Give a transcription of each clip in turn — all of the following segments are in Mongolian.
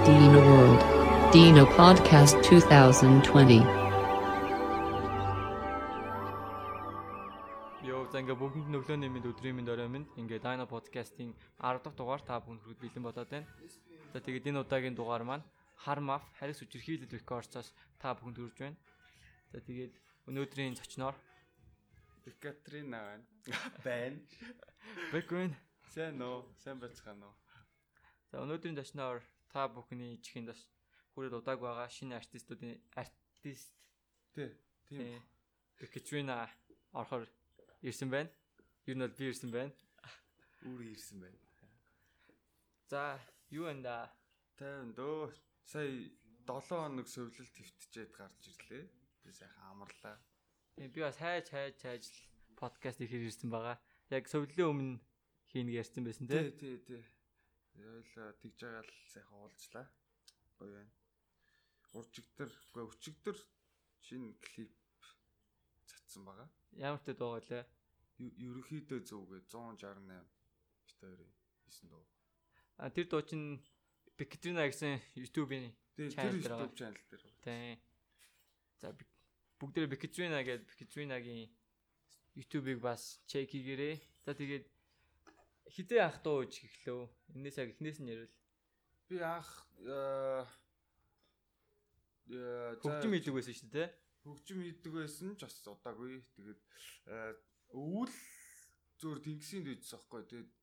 Dino World. Dino Podcast 2020. За ингээ бүгд өглөөний минь өдрийн минь орой минь ингээ Dino Podcast-ийн 10 дахь дугаар та бүхэнд хүргэж бэлэн бодоод байна. За тэгээд энэ удаагийн дугаар маань хар маф Харис Үчирхийлэл Records-аас та бүхэнд хүрж байна. За тэгээд өнөөдрийн зочноор Екатерина байна. Бэквин сайн байцгаана уу. За өнөөдрийн зочноор та бүхний чихэнд бас хүрээд удааг байгаа шинэ артист тийм Екатерина орохоор ирсэн байна. Юу нь бол би ирсэн байна. Үүрээ ирсэн байна. За, юу энэ тайван дөө. Сая 7 хоног сувлал твтчээд гарч ирлээ. Би сайхан амарлаа. Би бас хайж подкаст ихээр ирсэн байгаа. Яг сувлалын өмнө хийнэ ярьсан байсан тий. Тий. Ойлоо тэгж байгаа л сайхан уулзлаа. Гоё байна. Өчигдөр шинэ клип цацсан байгаа. Ямар ч дуу байлаа. Ерөнхийдөө зөвгээ 168 битээр хийсэн дуу. Тэр дуу чинь Екатерина гэсэн YouTube-ийн channel дээр. Тийм. За бүгдээ Екатерина гэдэг Екатеринагийн YouTube-ыг бас чек хийгээрэй. За тэгээд хідээ ах дуу ич эхлэв. Энээс яг эхнээс нь ярил. Би анх хөгжим хийдэг байсан шүү дээ. Хөгжим хийдэг байсан ч бас удаагүй. Тэгээд өвөл зөөр тэнгисийн дэжсэн аахгүй. Тэгээд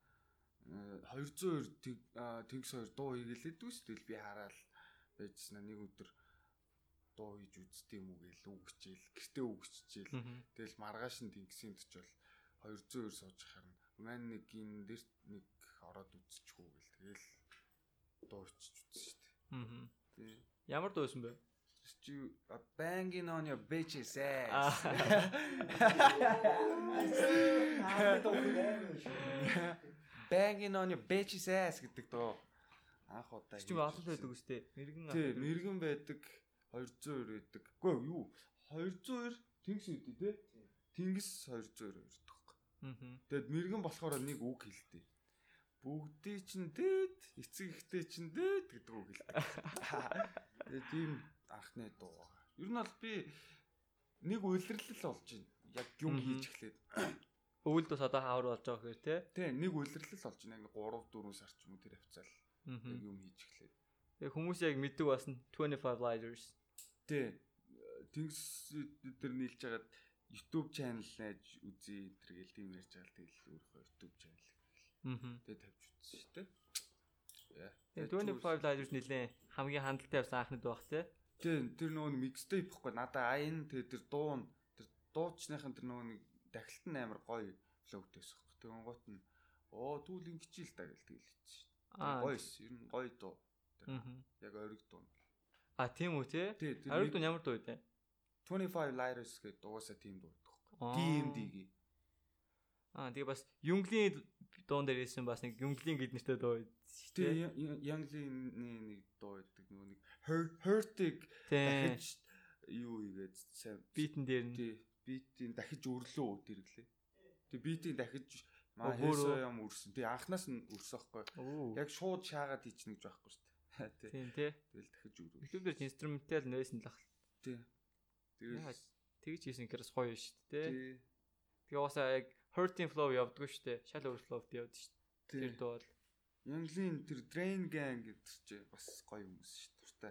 202 тэнгис 2 дуу хийгэлээд үс. Тэгэл би хараад байжснаа нэг өдөр дуу хийж үзтiim үү гээл үгчээл. Гэртээ үгччихээл. Тэгэл маргааш нь тэнгисийн дэж бол 202 сууж харна. Маань нэг ин дээр нэг ороод үзчихгүй гээл. Тэгэл дуу хийчих үзсэн шүү дээ. Ямар дуу байсан бэ? Banging on your bitch's ass. Banging on your bitch's ass гэдэг дөө. Анх удаа. Чи олон байдаг үстэй. Мэргэн байдаг. 202 байдаг. Үгүй юу? 202 тэнгис үүдээ тий. Тэнгис 202 байдаг. Тэгэд мэргэн болохоор нэг үг хэлдэг. Бүгдий чинь дээд, эцэг ихтэй чинь дээд гэдэг үг хэлдэг. Тэгээ тийм анхны дуу. Ер нь бол би нэг үйлрэлэл болж байна. Яг юм хийж эхлээд. Өвөлд бас одоо хавар болж байгаа гэхээр тий. Тий, нэг үйлрэлэл болж байна. Яг 3-4 сар ч юм уу тэр хавцаал. Яг юм хийж эхлээд. Тэгээ хүмүүс яг мэддэг басна 25 Lighters. Тий. Тэнгис дээр нийлж хагаад YouTube channel нээж үзье тэр гээл тийм ярьж байгаа. Тэгэл өөрөө YouTube channel. Тэгээ тавьж үзсэн шүү дээ. 25 Lighters нэлээ хамгийн хандлттай явсан анхны дуу бах тий. Тэр нөгөө mixtape ихгүй надаа аян тэр дуучныхын тэр нөгөө дахилт нь амар гоё флоутэйс ихгүй. Тэгэн гот нь түүл ингэчил та гэл тэгэл хийчих. Гоёс ер нь гоё дуу. Яг ориг дуу. Тийм үү тий? Ориг дуу ямар дуу вэ? 25 Lighters гэдэг дуусаа тийм дуу байхгүй. DMD-гийн. Тэгээ бас Юнглийн дуун дээр ирсэн бас нэг Юнглийн гэд нэртэй дуу шүү дээ. Юнглийн нэг дуу байдаг нөгөө нэг Hurt-ыг дахиж юу игээд сайн битэн дээр нь битийн дахиж өрлөө тэрглээ. Тэгээ битийн дахиж хөөсөө юм өрсөн. Тэгээ анханаас нь өрсөн байхгүй. Яг шууд шаагаад хийчихнэ гэж байхгүй шүү дээ. Тийм тий. Тэгэл дахиж өрөө. Ихлээр инструментал нөөсөн л ах. Тий. Тэгээ тэгж хийсэн гэхээс гоё шүү дээ. Тий. Тэгээ уусаа яг Hurting flow явдггүй шүү дээ. Шал overflow-д явд шүү дээ. Тэр дуу бол Янглийн тэр Drain Gang гэдэг чи бас гоё хүмүүс шүү дээ.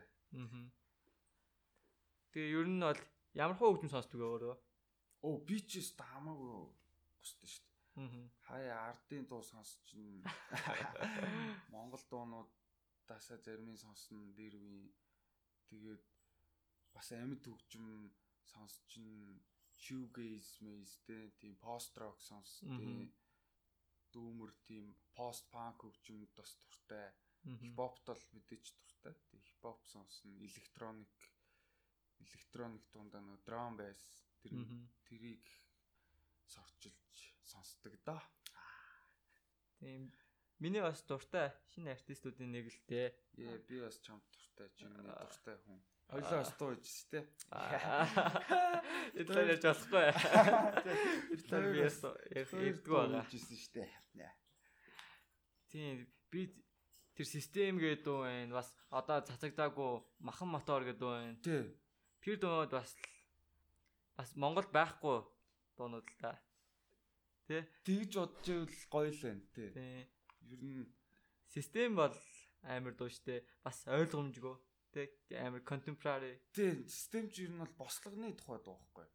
Тэгээ ер нь бол ямар хөө хөгжим сонсдог вэ өөрөө? Би ч гэсэн хамаагүй густай шүү дээ. Хаяа ардын дуу сонсч ин Монгол дуунуудаасаа зарим нь сонсно дээр үе. Тэгээд бас амьд хөгжим сонсч ин shoegaze мэйстэй тийм post rock сонсдог. Дүүмэр тийм post punk хөгжимд бас дуртай. Хип хопт бол мэдээч дуртай. Тийм хип хоп сонсно, электроник дундаа нөө drum bass тэрийг сорчилж сонсдог доо. Тийм миний бас дуртай шинэ артистуудын нэг л дээ. Би бас чамд дуртай, чиний дуртай хүн. Ойлоо стуу ижс тээ. Эдгээр ярьж болохгүй. Эдгээр би ярьдгүй байгаа. Ижсэн штэ. Тийм би Тэр систем гэдэг дуу байна. Бас одоо цацагдаагүй махан мотор гэдэг дуу байна. Тий. Тэр дуунууд бас Монголд байхгүй дуунууд л та. Тэ? Тэгж бодож ивэл гоё л байна тий. Ер нь систем бол амар дуу штэ. Бас ойлгомжгүй. Тэ? Амар contemporary. Тий, систем ч ер нь бол бослогны тухай дуу байхгүй.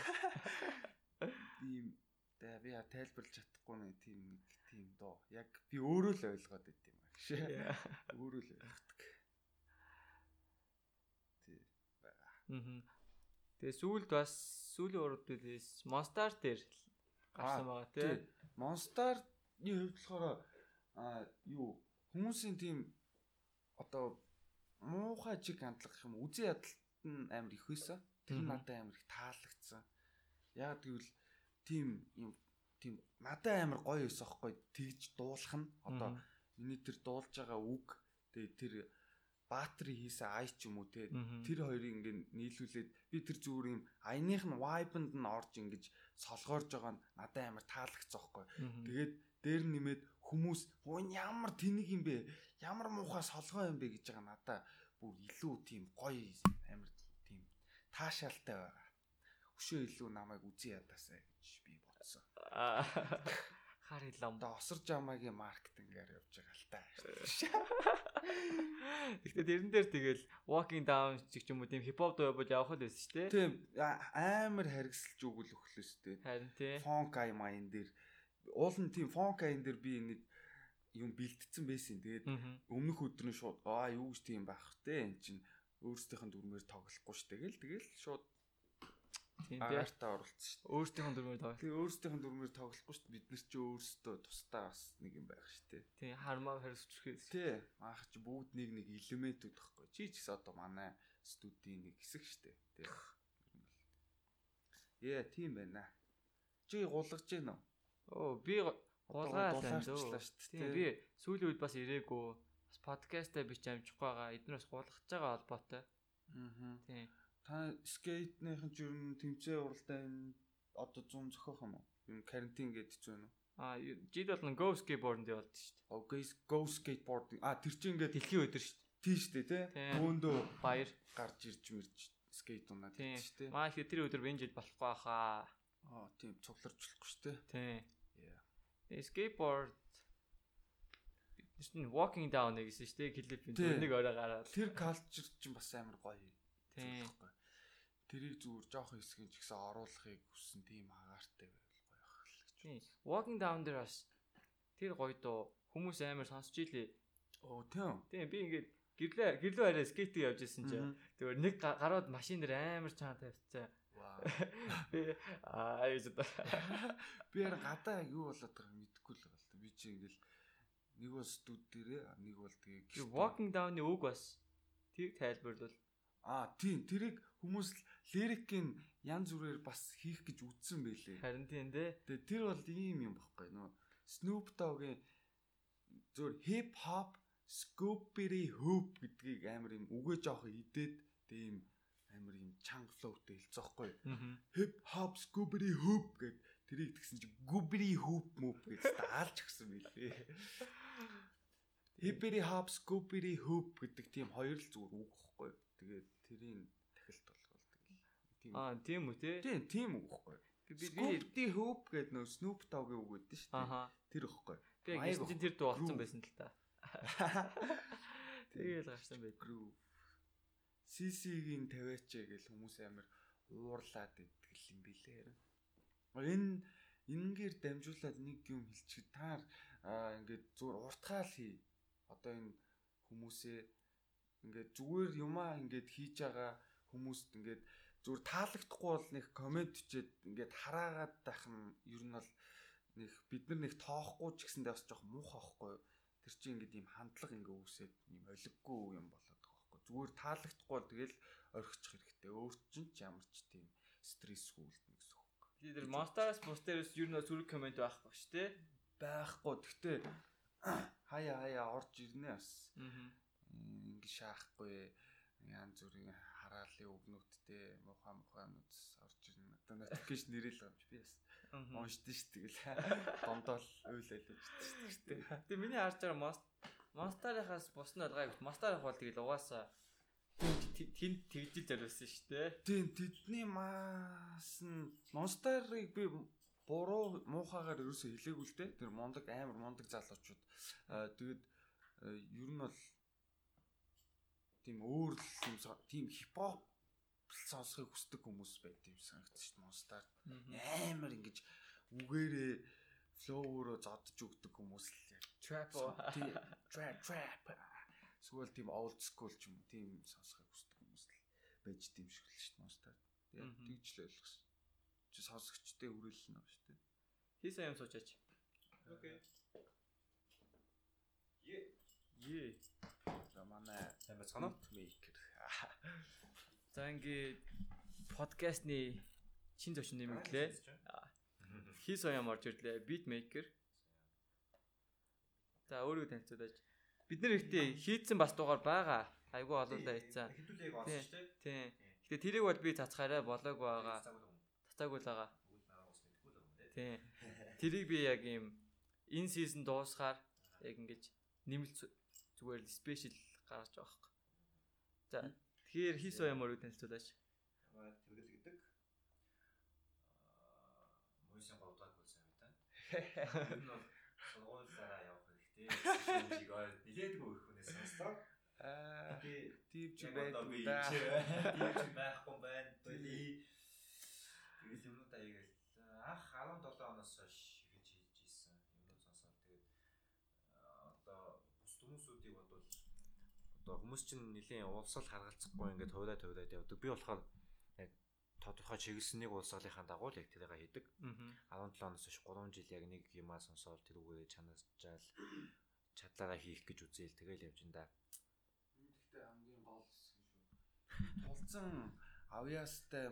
Тийм би тайлбарлаж чадахгүй нэг тийм дуу. Яг би өөрөө л ойлгоод байт юм аа гэж. Өөрөө л ойлгодог. Тий. Тэгээ сүүлийн урдээс Monster дээр гарсан байгаа тий. Monster-ны хувьд болохоор хүмүүсийн тийм одоо муухай чиг хандлага юм үзэн ядалт нь амар их байсан. Тэр надад амар их таалагдсан. Яг гэвэл тийм надад амар гоё байсан аахгүй тэгж дуулах нь одоо миний тэр дуулж байгаа үг тэгээ тэр Баатри хийсэн ай ч юм уу те тэр хоёрыг ингээ нийлүүлээд би тэр зүгээр юм аяных нь vibe-нд нь орж ингэж солгоорж байгаа нь надад амар таалагдсан аахгүй. Тэгээд дээр нэмээд хүмүүс ямар тэнэг юм бэ? Ямар муухай солгоо юм бэ гэж байгаа надад бүр илүү тийм гоё амар тийм таашаалтай байгаа. Өшөө илүү намайг үзэн ядаасаа гэж би бодсон. Хар хилам. Осор жамаагийн маркетингээр явж байгаа л та. Гэхдээ тэрэн дээр тэгэл walking down ч юм уу тийм хипхоп дуу явуулж явах л байсан шүү дээ. Тийм амар харгисалж өгөл өглөөс дээ. Харин тий. Фонк аймаан дээр уул нь тийм фонк айн дээр би нэг юм бэлтцсэн байсан. Тэгээд өмнөх өдөр нь шууд юу гэж тийм байх вэ? Эн чинь өөрсдийнх нь дүрмээр тоглохгүй ш. Тэгэл шууд тийм агартаа оролцсон ш. Өөрсдийнх нь дүрмээр тоглох. Тэгээ өөрсдийнх нь дүрмээр тоглохгүй ш. Бид нар ч өөрсдөө тусдаа бас нэг юм байх ш. Тийм хармаа харьцуулах. Тий. Маах чи бүгд нэг элементүүд байхгүй. Чи ч гэсэн одоо манай студийн нэг хэсэг ш. Тий. Тийм байна. Чи гулгаж гин үү? Би гулгаалаа шүү дээ. Би сүүлийн үед бас ирээгүй. Бас подкастаа би ч амжихгүй байгаа. Эднээс гулгаж байгаа холбоотой. Тийм. Та скейтнийхэн ч ер нь тэмцээн уралдаанд одоо 100 зохиох юм уу? Юм карантин гэдэг ч байна уу? Жид бол go skateboard дээр болд шүү дээ. Go skateboarding. Тэр чинь ингээд дэлхийн өдөр шүү дээ. Тийм шүү дээ, тий. Өөндөө баяр гарч ирж скейт унаад тийм шүү дээ. Маш их тэр өдөр энэ жил болохгүй хаа. Тийм цугларч болохгүй шүү дээ. Тийм. Skateboard чинь walking down гэсэн шүү дээ. Клипийн нэг орой гараад. Тэр culture чинь бас амар гоё. Тийм. Тэрийг зүгээр жоох хэсгийн ч гэсэн оруулахыг хүссэн тийм агаартай байвал гоё байх л гэж. Тийм. Walking down дээр бас тэр гоё доо хүмүүс амар сонсч илээ. Тийм. Тийм би ингээд гэрлөө арай скейтинг явж исэн чинь тэгвэр нэг гарууд машин дээр амар чаан тавьчихсан. Вау. Би гадаа юу болоод байгааг мэдэхгүй л байна. Би чи ингээл нэг бол студ дээрээ нэг бол тэгээ walking down-ы үг бас тийг тайлбарлал. Тийм тэрийг хүмүүс лирикийн янз бүрээр бас хийх гэж үзсэн байлээ. Харин тийм дээ. Тэгээ тэр бол ийм юм баггүй нөө Snoop Dogg-ийн зөв hip hop scoopy hoop гэдгийг амар юм үгээ жоох идээд тийм амар юм чанга флоутэй хэлцээхгүй. Hip hop scoopy hoop гэд тэрийг тэгсэн чи goobly hoop move гэж даалж өгсөн байлээ. Hip hop scoopy hoop гэдэг тийм хоёр л зүгээр үг байхгүй. Тэгээд тэрийн тахилт болгоол тийм. Тийм үү те? Тийм үг байхгүй. Би hoop гэдэг нөө Snoop Dogg-ийн үг гэдэг шүү дээ. Тэр ихгүй. Тэгээд чинь тэр дуу олцсон байсан л та. Тэгээл гарсан байт. CC-гийн 50-аач гэл хүмүүс амар уурлаад идэл юм билээ. Энэгээр дамжуулаад нэг юм хэлчих. Та ингээд зүгээр уртгаал хий. Одоо энэ хүмүүсээ ингээд зүгээр юмаа ингээд хийж байгаа хүмүүст ингээд зүгээр таалагдахгүй бол нэг комент өчээд ингээд хараагаад байх нь ер нь бол нэг бид нар нэг тоохгүй ч гэсэндээ бас жоох муухай байхгүй. Тэр чинь ингээд ийм хандлага ингээ үүсээд ийм олиггүй юм болоод байгаа байхгүй. Зүгээр таалагдахгүй бол тэгэл орхичих хэрэгтэй. Өөр чинь ч ямар ч тийм стрессгүй үлдэнэ гэсэн үг. Тэр Monster-аас бусдаас ер нь зүрх комент байхгүй шүү дээ. Байхгүй. Гэхдээ хаяа орж ирнэ бас. Ингээ шаахгүй янз бүрийн хараалын өгнүүдтэй мухамнууд орж ирнэ. Одоо notification нэрэл байгаа юм чи би бас уншдээ ш тэгэл дондоол уйл алиж шүү дээ. Тэгээ миний харж байгаа Monster-ийнхаас бус нь алгаа гэвэл Monster-их бол тэгэл угаасаа тэнд тэгжил зориулсан шүү дээ. Тийм тэдний маас нь Monster-ыг би буруу муухайгаар ерөөсөө хэлээгүй л дээ. Тэр мундаг амар мундаг залуучууд. Тэгээд ер нь бол тийм өөр л тийм хипхоп сонсохыг хүсдэг хүмүүс байт юм санагдчих шүү дээ. Monster амар ингэж үгээрээ флоуроо зодж өгдөг хүмүүс л яг Trap эсвэл тийм old school ч юм уу тийм сонсохыг хүсдэг хүмүүс л байж тийм шиг л шүү дээ. Monster. Яг тэгж л ойлгосон. Чи сонсогчтой хүрээлэл нь шүү дээ. Хийсэн юм суучаач. Окей. Е. За манай сайн бацгаана. Maker. За ингээд подкастны чин зочин нэмэглээ. Хийс оям орж ирлээ. Beatmaker. За өөрийгөө танилцуулаач. Бид нэр ихтэй хийцэн бас дугаар байгаа. Айгу олоолаа хийцэн. Хэдүүлээг олсон шүү дээ. Тийм. Гэтэ тэрийг бол би цацгаараа болоог байгаа. Цацаагүй л байгаа. Тийм. Тэрийг би яг ийм энэ сизон дуусгаар яг ингэж нэмэлт зүгээр л спешиал гаргаж байгаа хэрэг. За тэгэхээр хийс оям өөрийгөө танилцуулаач. Ямаа тэмдэглэл гэдэг. Мөсөн боддог болсон юм байна. Энэ бол сургуулиараа явах хэрэгтэй. Шинжийг нилээдгүй өрх хүнээс сонслоо. Тийм ч байхгүй байдаг. Тийм ч байхгүй байна. Тэгэл юмнуудаа игээл анх 17 оноос хойш хийж ийсэн юмнууд сонсоод тэгээд одоо бус хүмүүсүүдийг бодвол одоо хүмүүс чинь нэлийн улсал харгалзахгүй ингээд хувьдаад явдаг. Би болохоор яг тодорхой чиглэлснийг улсгалынхаа дагуу л яг тэрийг хийдэг. 17 оноос хойш 3 жил яг нэг юмаа сонсоод тэр үгээр чанасчаал чадлаараа хийх гэж үзээл тэгэл явж энэ да. Гэхдээ хамгийн гол хэсэг шүү. Тулцсан авьяастай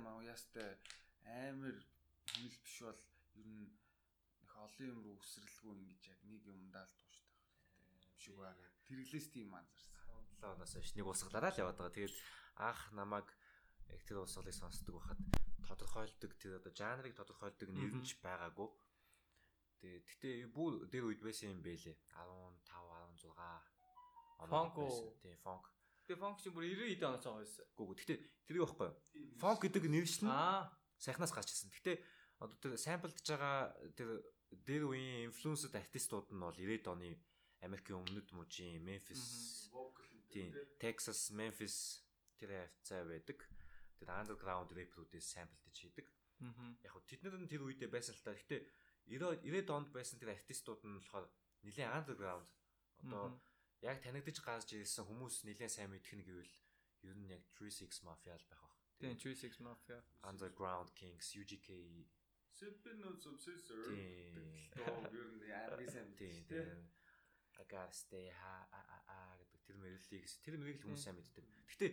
амар хэмэл биш бол ер нь их олон юм руу өсрэлгүй ингэж яг нэг юмдаа л тууштай хэрэгтэй юм шиг байгаа. Тэрглээс тийм анзаарсан. 17 оноос хойш нэг улсгалаараа л яваад байгаа. Тэгээд анх намайг яг тэр улсгалыг сонсдог байхад тодорхойлдог тэр одоо жанрыг тодорхойлдог нэр нь ч байгаагүй. Тэгээд гэтээ бүр дээр үед байсан юм бэлээ. 15, 16 Funk уу? Тийм funk. Тэгээ funk чи бүр 90 эд оноос байгаа байсан. Гүг. Гэтээ тэрийг байхгүй. Funk гэдэг нэршил нь сайхнаас гарч ирсэн. Гэтээ одоо тэр самплдж байгаа тэр дээр үеийн инфлюенсд артистууд нь бол 90-ад оны Америкийн өмнөд мужийн Memphis, тийм Texas, Memphis тэр хавцаа байдаг. Тэр underground rap-үүдээс самплдж хийдэг. Яг хөө тэд нар нь тэр үедээ байсан л та. Гэтээ 90-ад онд байсан тэр артистууд нь болохоор нэлээд underground. Одоо яг танигдж гарч ирсэн хүмүүс нэлээд сайн мэдэх нь гэвэл ер нь яг 36 Mafia л байх баг. Тийм 36 Mafia, Underground Kings, UGK, Sipping on some scissors. Тийм. Ер нь амар сайн тийм. I gotta stay high гэдэг тэр мэрийг л хүмүүс сайн мэддэг. Гэхдээ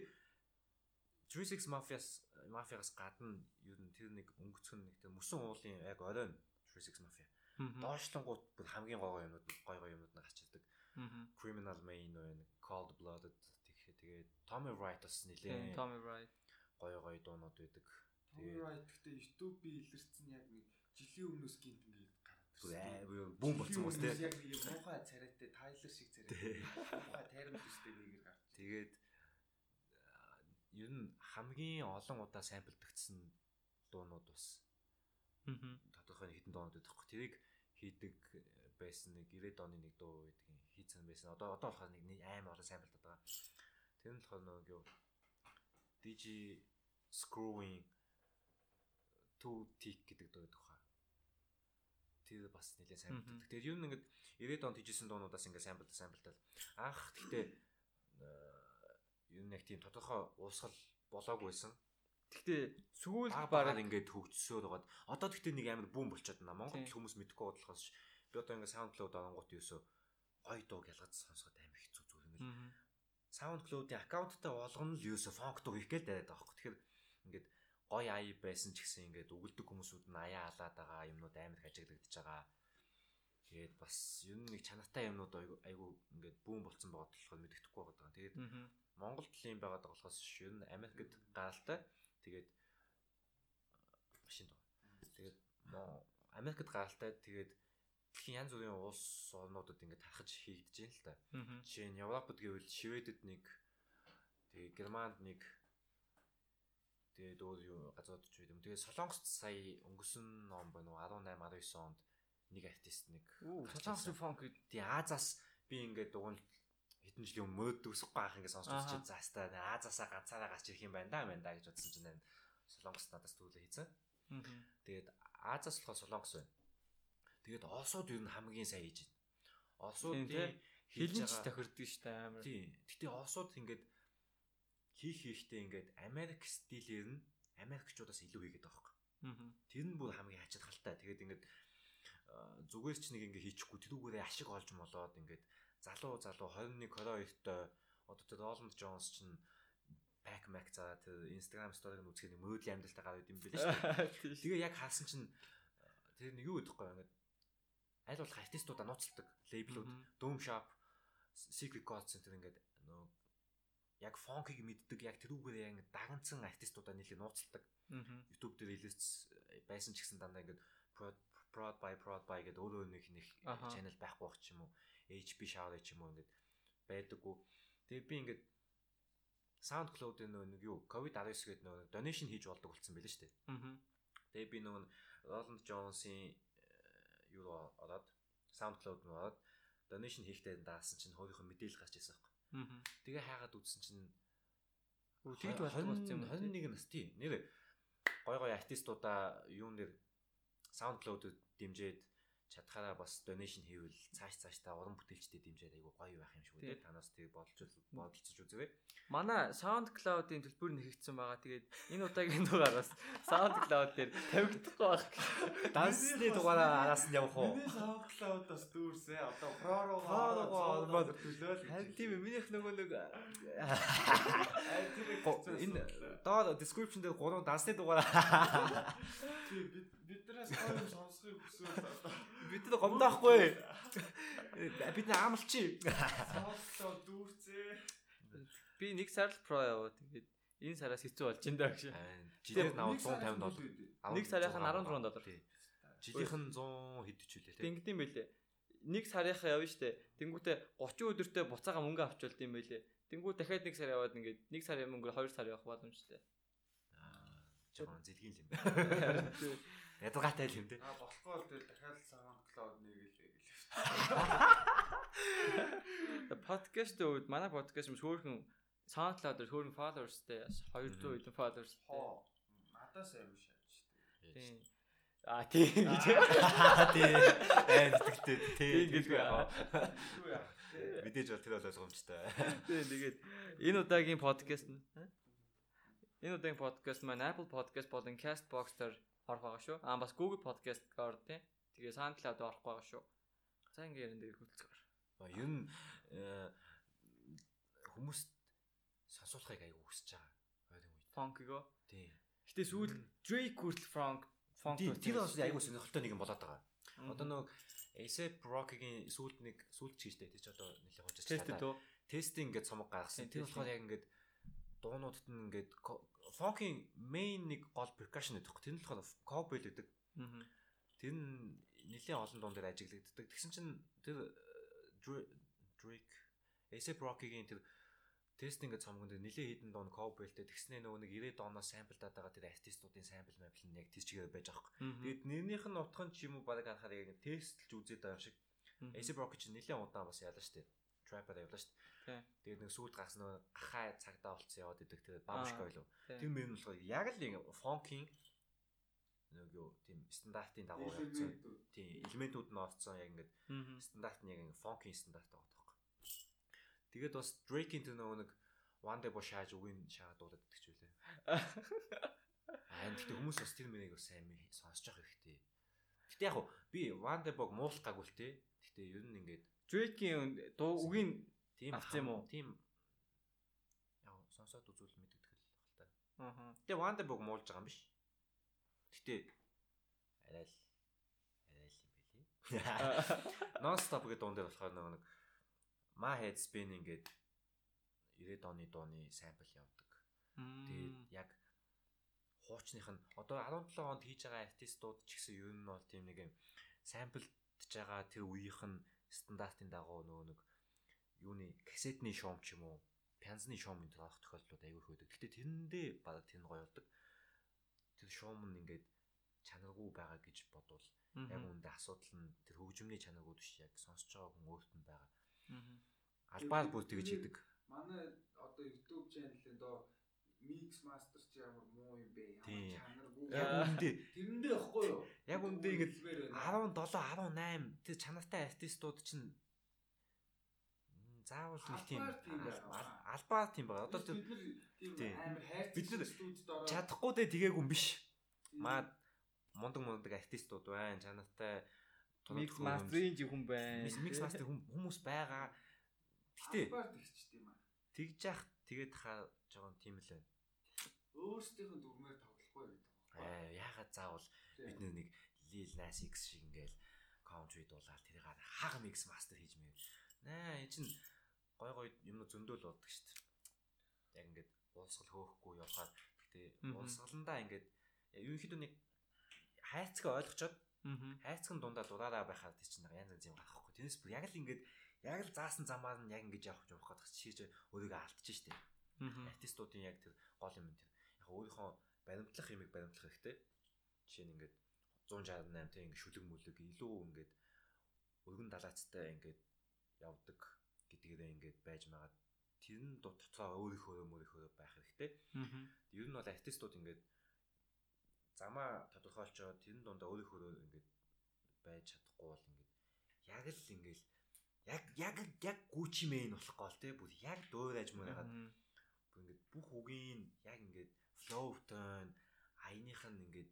36 Mafia-гаас гадна ер нь тэр нэг өнгөцгөн нэг тэр мөсөн уулын яг оройн 36 Mafia. Доошлонгууд бүр хамгийн гой юмнууд гарч ирдэг. Criminal Main байна, Cold Blooded тэгээд Tommy Wright бас нэлээ. Tommy Wright гой дуунууд байдаг. Tommy Wright гэхдээ YouTube-ийн илэрсэн яг нэг жилийн өмнөөс гинт ингээд гараад ирсэн. Бүүн болсон хүмүүс те. Яг нэг муухай царайтай Tyler шиг царайтай. Муухай тайран төстэй нэгээр гарч. Тэгээд ер нь хамгийн олон удаа самплдагдсан дуунууд бас. Тодорхой хэдэн дуунууд байдаг. Тэрийг хийдэг байсан нэг 90-ад оны нэг дуу байдаг хийцэн байсан. Одоо болохоор нэг аим олон самплдаад байгаа. Тэр нь болохоор нөгөө DJ Screwing Two Tick гэдэг дуу байдаг хаа. Тэр бас нэлээд самплдаг. Тэгээд ер нь ингээд 90-ад онд хийжсэн дуунуудаас ингээд самплтал. Анх гэхдээ ер нь яг тийм тодорхой уусгал болоогүйсэн. Гэхдээ сүүл бараг ингээд хөгжсөөр байгаад одоо гэхдээ нэг амар бүүн болчиход байна. Монгол хүмүүс мэдхгүй бодлохоос би одоо ингээд SoundCloud оронгууд юусоо гой дууг ялгаж сонсоход амар хэцүү зүгээр ингээд SoundCloud-ийн аккаунттай болгоно л юусоо funk дуу хийх гээл дайраад байгаа хөөх. Тэгэхээр ингээд гой ай байсан ч гэсэн ингээд өгөлдөг хүмүүсүүд нь аяа халаад байгаа юмнууд амар их ажиглагдаж байгаа. Тэгээд бас ер нь нэг чанартай юмнууд айгу ингээд бүүн болцсон байгаа болохоор мэддэхгүй байгаа. Тэгээд Монголд л юм байгаа болохоос ер нь Америкт гаралтай. Тэгээд машин доо. Тэгээд Америкт гаралтай тэгээд дэлхийн янз бүрийн улс орнуудад ингээд тархаж хийгдэж байна л та. Жишээ нь Европод гэвэл Шведэд нэг, тэгээ Германд нэг, тэгээд өөр юу газрууд ч юм. Тэгээ Солонгост сая өнгөрсөн он байна уу 18 19 онд нэг артист нэг Солонгосын фонк тий Азаас би ингээд дугуйл хэдэн жилийн өмнө мөөдөгсөхгүй байх ингээд сонсч үзчихээ заастаа Азаасаа ганцаараа гарч ирэх юм байна да гэж бодсон чинь Солонгост надаас түүлээ хийцэн. Тэгээд Азаас болохоор Солонгос байна. Тэгээд Осууд юу н хамгийн сайн хийж байна. Осуудын хэлнч тохирдог шүү дээ амар. Тий. Гэтэ Осууд ингээд хийхдээ ингээд Америк стилээр нь Америкчуудаас илүү хийгээд байгаа байхгүй. Тэр нь бүр хамгийн хачирхалтай. Тэгээд ингээд зүгээр ч нэг ингээ хийчихгүй тэрүүгээрээ ашиг олж молоод ингээд залуу 21 22-той одоо тэр Роланд Джонс чинь back mac за тэр Instagram story-г нь үзэхэд мөөдлийн амьдралтай гараад юм билээ шүү дээ. Тэгээ яг харсан чинь тэр нэг юу гэдэггүй ингээд аль болох артистуудаа нууцлдаг лейблүүд Doom Shop, Secret God Center ингээд нөө яг фонкийг мэддэг яг тэрүүгээрээ ингээд даганцсан артистуудаа нийлээ нууцлдаг. YouTube дээр релиз байсан ч гэсэн дандаа ингээд Prod by гэдэг өөрөө нэг channel байхгүй байх ч юм уу HP Shower ч юм уу ингээд байдаггүй. Тэгээ би ингээд SoundCloud-ын нэг юу COVID-19 гэдэг нэг donation хийж болдог болсон байлээ шүү дээ. Тэгээ би нөгөө Roland Jones-ийн юу ороод SoundCloud нь ороод donation хийхдээ даасан чинь өөрийнхөө мэдээлэл гарч ирсэн байхгүй. Тэгээ хайгаад үзсэн чинь тэгж болдог болсон юм. 21 нас тий нэр гой артистуудаа юу нэр SoundCloud-д дэмжиж чадхаараа бас donation хийвэл цааш та уран бүтээлчдэд дэмжиж айгу гоё байх юм шиг үү. Танаас тийг бодолцож үзээрэй. Манай SoundCloud-ийн төлбөр нэхэгдсэн байгаа. Тэгээд энэ удаагийн дугаараас SoundCloud дээр тавигдахгүй байх. Дансны дугаараа араас нь явах уу? Миний SoundCloud-аас дүүрсээ одоо Pro-роо төлөөл. Харин тийм минийх нөгөө нэг энэ доор description дээр 3 дансны дугаараа биднээс гоё сонсохыг хүсвэл одоо бид нар гомдохгүй. Бид нар амлчи. SoundCloud дүүрцээ. Би нэг сар л Pro яваа. Тэгээд энэ сараас хэцүү болж энэ гэж. Жилээр наваа $150. Нэг сарынх нь $14. Жилийнх нь 100 хэд ч үлээ тий. Ингэдэм байлээ. Нэг сарынхаа явна штэ. Тэнгүүтээ 30 өдөртөө буцаага мөнгө авчулд юм байлээ. Тэнгүү дахиад нэг сар яваад ингээд нэг сарын мөнгөөр 2 сар явах боломжтой. Жоо зэлгийн юм байна. Ядгатай л юм тий. Болохгүй бол тэгэл дахиад SoundCloud нэгэлээ гэлээ. Подкаст үүд манай подкаст юм хөөрхөн SoundCloud-ээр хөөрхөн followersтэй 200 хэдэн followersтэй. Надаас аягүй шааж штэ. Тийм. Тийм гэж. Тийм. Тэгтээ тийм гэж яа. Мэдээж бол тэр бол ойлгомжтой. Тийм тэгээд энэ удаагийн подкаст нь маань Apple Podcast болон Castbox-аар орох байгаа шүү. Бас Google Podcast-гаар тийм. Тэгээ SoundCloud орох байгаа шүү. За ингэ ярин дээр хөдөлцгөр. Ер нь хүмүүст сонсуулахыг аягүй хүсэж байгаа. Ойрын үед. Funk-го. Тийм. Гэтэ сүүл Drake хүртэл funk тэр бас аягүй сонирхолтой нэг юм болоод байгаа. Одоо нэг A$AP Rocky-гийн сүүлд чийжтэй тийч одоо нэлээд хожиж чадаа. Тестинг ингээд цомог гаргасан. Тэр болохоор яг ингээд дуунуудад нь ингээд funk-ийн main нэг гол percussion гэдэг. Тэр нь болохоор cowbell гэдэг. Тэр нь нэлээд олон дуун дээр ажиглагддаг. Тэгсэн чинь тэр Drake A$AP Rocky-гийн тэр тестинг цомгонд нэлээд хідэн дуун cowbellтэй тэгснээ нөгөө нэг 90 дооноос самплдаад байгаа тэр артистуудын сампл мапл нь яг тийч чигээр байж байгаа хэрэг. Тэгээд нэрнийх нь утхан ч юм уу баг анхаар яг тестлж үзээд байгаа юм шиг. A$AP Rocky ч нэлээд удаан бас яалаа штэ. Trapper явлаа штэ. Тэгээд нэг сүйд гарсан нөгөө гахаа цагдаа болцсон яваад идэг тэр бамшка байлуу. Тэр мөр нь болохоор яг л фонкийн нэг юу тийм стандартын дагуу явцсан. Тийм элементүүд нь орцсон яг ингээд стандарт нь яг фонкийн стандарт байгаа. Тэгээд бас Drake-ийн тэр нэг One Day Boy шааж үгийн шаагаад дуулаад идэх ч үлээ. Гэхдээ хүмүүс бас тэр мөрийг бас сайн сонсож явах хэрэгтэй. Гэтэ яг би One Day Boy муулах гаггүй л те. Гэтэ ер нь ингээд Drake-ийн дуу үгийн тийм авсан юм уу? Тийм. Яг сонсоод үзүүл мэддэг л баг та. Гэтэ One Day Boy муулж байгаа юм биш. Гэтэ арай л юм байлээ. Non-stop гэдэг дуун дээр болохоор нэг My Head Spinning гэдэг 90 оны дууны сампл явдаг. Тэгээд яг хуучных нь одоо 17 онд хийж байгаа артистууд ч гэсэн ер нь бол тийм нэг юм сампл байгаа тэр үеийнх нь стандартын дагуу нөгөө нэг юуны кассетны шоум ч юм уу, пянзны шоумын тоох тохиолдлууд аягүй их байдаг. Гэтэ тэрэндээ баг тэр нь гоё болдог. Тэр шоум нь ингээд чанаргүй байгаа гэж бодвол яг үүндээ асуудал нь тэр хөгжмөний чанаргүй биш, яг сонсож байгаа хүн өөрт нь байгаа. Албаар бүр тэгж хийдэг. Манай одоо YouTube channel-ын доо mix master ч ямар муу юм бэ? Ямар чанаргүй. Яг үүндээ тэрэндээ ихгүй юу? Яг үүндээ ингээд 17, 18 тэр чанартай артистууд чинь заавал нэг тийм албаар тийм байна. Одоо бид нар тийм амар хайрцаг студид ороод чадахгүй дээ тэгээгүй юм биш. Маа мундаг артистууд байна. Чанартай mix master-ийн хүн байна. Mix master хүмүүс байгаа. Гэтэ албаар тэгчтэй юм аа. тэгж яах тэгээд хаа жоохон тийм л байна. Өөрсдийнх нь дүрмээр тоглохгүй гэдэг байна. Яагаад заавал бид нэг Lil Nas X шиг ингээл country дуулаад тэрийг хага mix master хийж мэв. Энэ чинь гой юм зөндөөл болдог шүү дээ. Яг ингээд уусгал хөөхгүй явахаар гэтээ уусгаландаа ингээд ерөнхийдөө нэг хайцгаа ойлгочоод хайцган дундаа дураараа байхад тийм чинь янз янз юм гарахгүй. Тэрнээс бүр яг л ингээд яг л заасан замаар нь яг ингэж явах гэдэг чиж өөрийгөө алдчих шүү дээ. Артистуудын яг тэр гол юм тэр. Яг өөрийнхөө баримтлах юмыг баримтлах хэрэгтэй. Жишээ нь ингээд 168 тэ ингээд шүлэг мүлэг илүү ингээд өргөн далайцтай ингээд явдаг гэдгээрээ ингээд байж магаад тэр нь дотоо өөрийнхөө байх хэрэгтэй. Ер нь бол артистууд ингээд замаа тодорхойлчоод тэр нь дундаа өөрийнхөө ингээд байж чадахгүй бол ингээд яг л ингээд яг Gucci Mane болох гол те бүр яг дуурайж муугаад бүр ингээд бүх үгийн яг ингээд flow tone аяных нь ингээд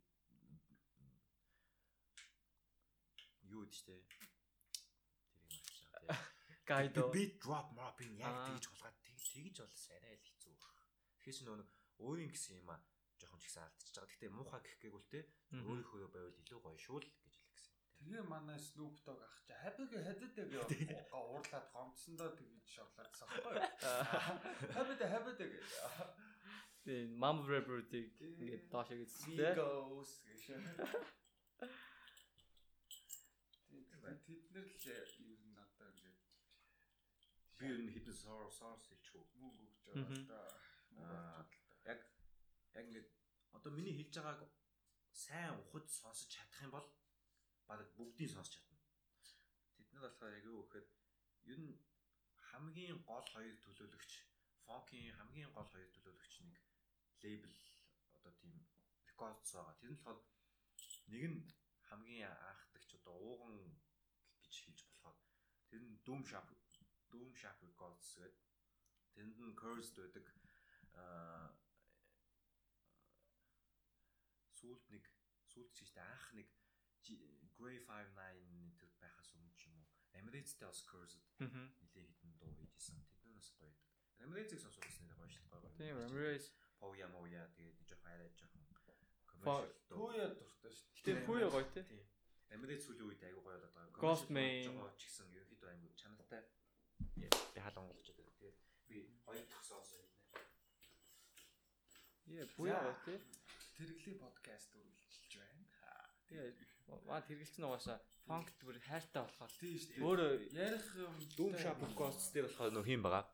юу гэжтэй тэрийг марчаа те гайдо beat drop mopping яг тэгж хулгаад тэгж болс арай л хэцүү баг. Тэгэхээр ч нөгөө өөрийн гэсэн юм а жоохон ч ихсэн алдчихж байгаа. Гэхдээ муухай гэх гээгүй л те өөрийнхөө байвал илүү гоё шүү л гэж л гэсэн. Тэгээ манай Snoop Dogg ах чи хабиг хэдэдэг уурлаад гомцсондоо тэгж шоглаадсан байхгүй. Хабиг гэж. Тэгээ mom rapper-ийг ингээд доошоо гэсэн те. Тэд нэр л юу надаа ингээд би ер нь хитэн source хэлчихв. мөнгө өгч байгаа да. Яг ингээд одоо миний хэлж байгааг сайн ухаж сонсож чадах юм бол баг бүгдийг сонсч чадна. Тэд нар болохоор яг юу гэхээр ер нь хамгийн гол хоёр төлөөлөгч, фонкийн хамгийн гол хоёр төлөөлөгч нэг лейбл одоо тийм рекордс байгаа. Тэр нь болохоор нэг нь хамгийн анхдагч одоо ууган гэж хэлж болохоор тэр нь Doom Shop Records гэдэг. Тэнд нь Cursed байдаг. Сүүлд чийгтэй анх нэг Grey 59 тэр байхаас өмнө ч юм уу. Emirates-тэй бас Cursed нэлээд хитэн дуу хийжсэн. Тэднээс гоё байдаг. Emirates-ийг сонсох гэсэн гоё шүү дээ. Тийм Emirates Poya тэгээд жоохон арай жоохон commercial Poya дуртай шүү дээ. Тийм Poya гоё тий. Emirates сүүлийн үед айгүй гоё болоод байгаа. Ghost Main ч гэсэн ерөнхийдөө аймаг чанартай би хаалгангуулж байгаа. Тэгээд би хоёр дахь сонсоо хэлнэ. Poya гоё тий. Тэрэглийн подкаст үргэлжилж байна. Тэгээд маа тэргэлцэн угаасаа фанк бүр хайртай болохоор тийм шүү дээ. Өөрөө ярих Doom Shop Records дээр болохоор нөх юм байгаа.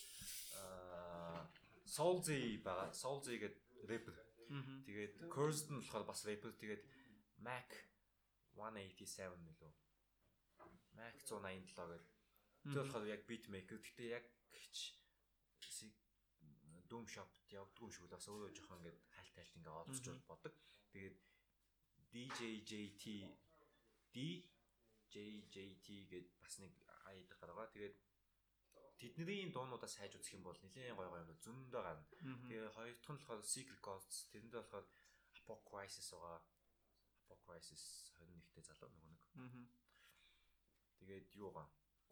Soulzy байгаа. Soulzy гэдэг рэпер. Тэгээд Cursed нь болохоор бас рэпер. Тэгээд Mac 187 нэлөө. Mac 187 гэдэг. Тэр болохоор яг beat maker. Гэхдээ яг Doom Shop-д явдгүй юм шиг л бас өөрөө жоохон ингээд хайлт ингээд олцож бодог. Тэгээд DJJT гэд бас нэг аядаг гаргаа. Тэгээд тэдний дуунуудаа сайж үзэх юм бол нэлээд гоё юм зөндөө гарна. Тэгээ хоёр дахь нь болохоор Secret Ghosts, тэрэндээ болохоор Apocrisis байгаа. Apocrisis 21-тэй залуу нэг. Тэгээд юу байгаа?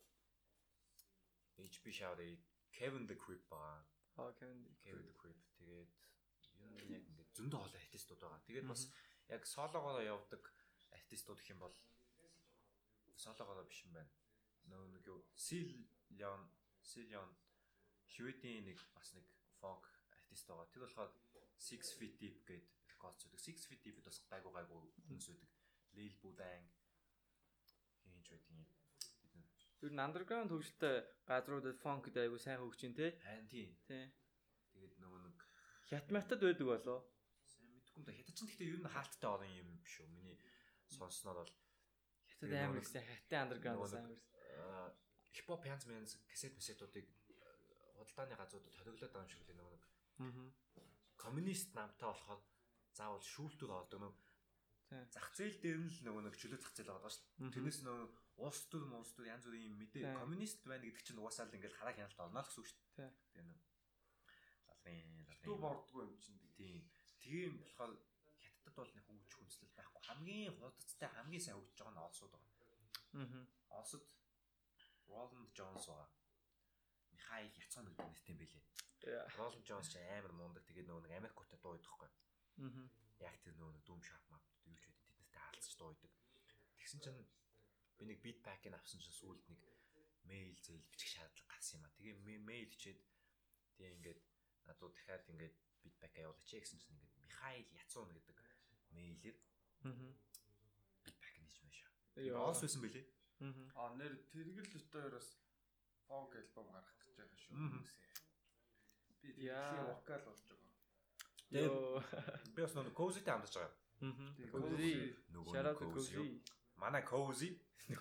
HB Shower Kevin the Creep байгаа. Kevin the Creep. Тэгээд юу яг ингээд зөндөө олон артистууд байгаа. Тэгээд бас яг сологоор явдаг артистууд гэх юм бол сологоор биш юм байна. Нэг юу Silion Шведийн нэг бас нэг фонк артист байгаа. Тэр болохоор 6 Feet Deep гэдэг рекорд зүдэг. 6 Feet Deep бас гайгүй хүмүүс үүдэг. Lil Budang хин юуч байдгийг. Юу н underground хөгжилтэй газруудад funk гэдэг айгу сайн хөгж ин тий. Харин тий. Тэгээд нөгөө нэг хятадд байдаг болоо. Сайн мэдгүй юм да. Хятад ч гэхдээ ер нь хаалттай олон юм биш үү. Миний сонсноор бол хятад амар ихсэн хятад underground сайн. Хипхоп янз янз кассетуудыг худалдааны газруудад хориглоод байгаа юм шиг л нөгөө нэг. Коммунист намтай болохоор заавал шүүлтүүд олдог нэг зах зээл дээр нь л нөгөө нэг чөлөө зах зээл байгаа шүү дээ. Тэрнээс нөгөө улс төр янз бүрийн юм мэдээ коммунист байна гэдэг чинь угаасаа л ингээл хараа хяналт олно л гэсэн үг шүү дээ. Тэгээ нэг дүү бордгоо юм чинь. Тийм болохоор хятадд бол нэг хөгжих хүнслэл байхгүй. Хамгийн худалцтай хамгийн сайн хөгжиж байгаа нь олсууд байгаа. Олсод Roland Jones байгаа. Михаил Яцхан гэдэг нэртэй байлээ. Roland Jones ч амар мундаг. Тэгээд нөгөө нэг Америктэй дуу идэхгүй. Яг тэр нөгөө дүүм шап мап юу ч байдаг. Тэднэртэй хаалцж дуу идэг. Тэгсэн чинь би нэг beat pack-ыг авсан чинь сүүлд нэг мэйл зээл бичих шаардлага гарсан юм а. Тэгээ мэйл хичээд тэгээ ингээд надад дахиад ингээд beat pack явуулаач гэсэн чинь ингээд Михаил Яцхан гэдэг мэйлэр beat pack нээж мэшаа. Олс байсан бэлээ. Нэр тэргэл өтөөроос фонк альбом гаргах гэж байгаа шүү. Би тэгээ вокал болж байгаа. Би бас нэг Cozy-тэй хамтарч байгаа. Cozy. Shout out to Cozy. Манай Cozy.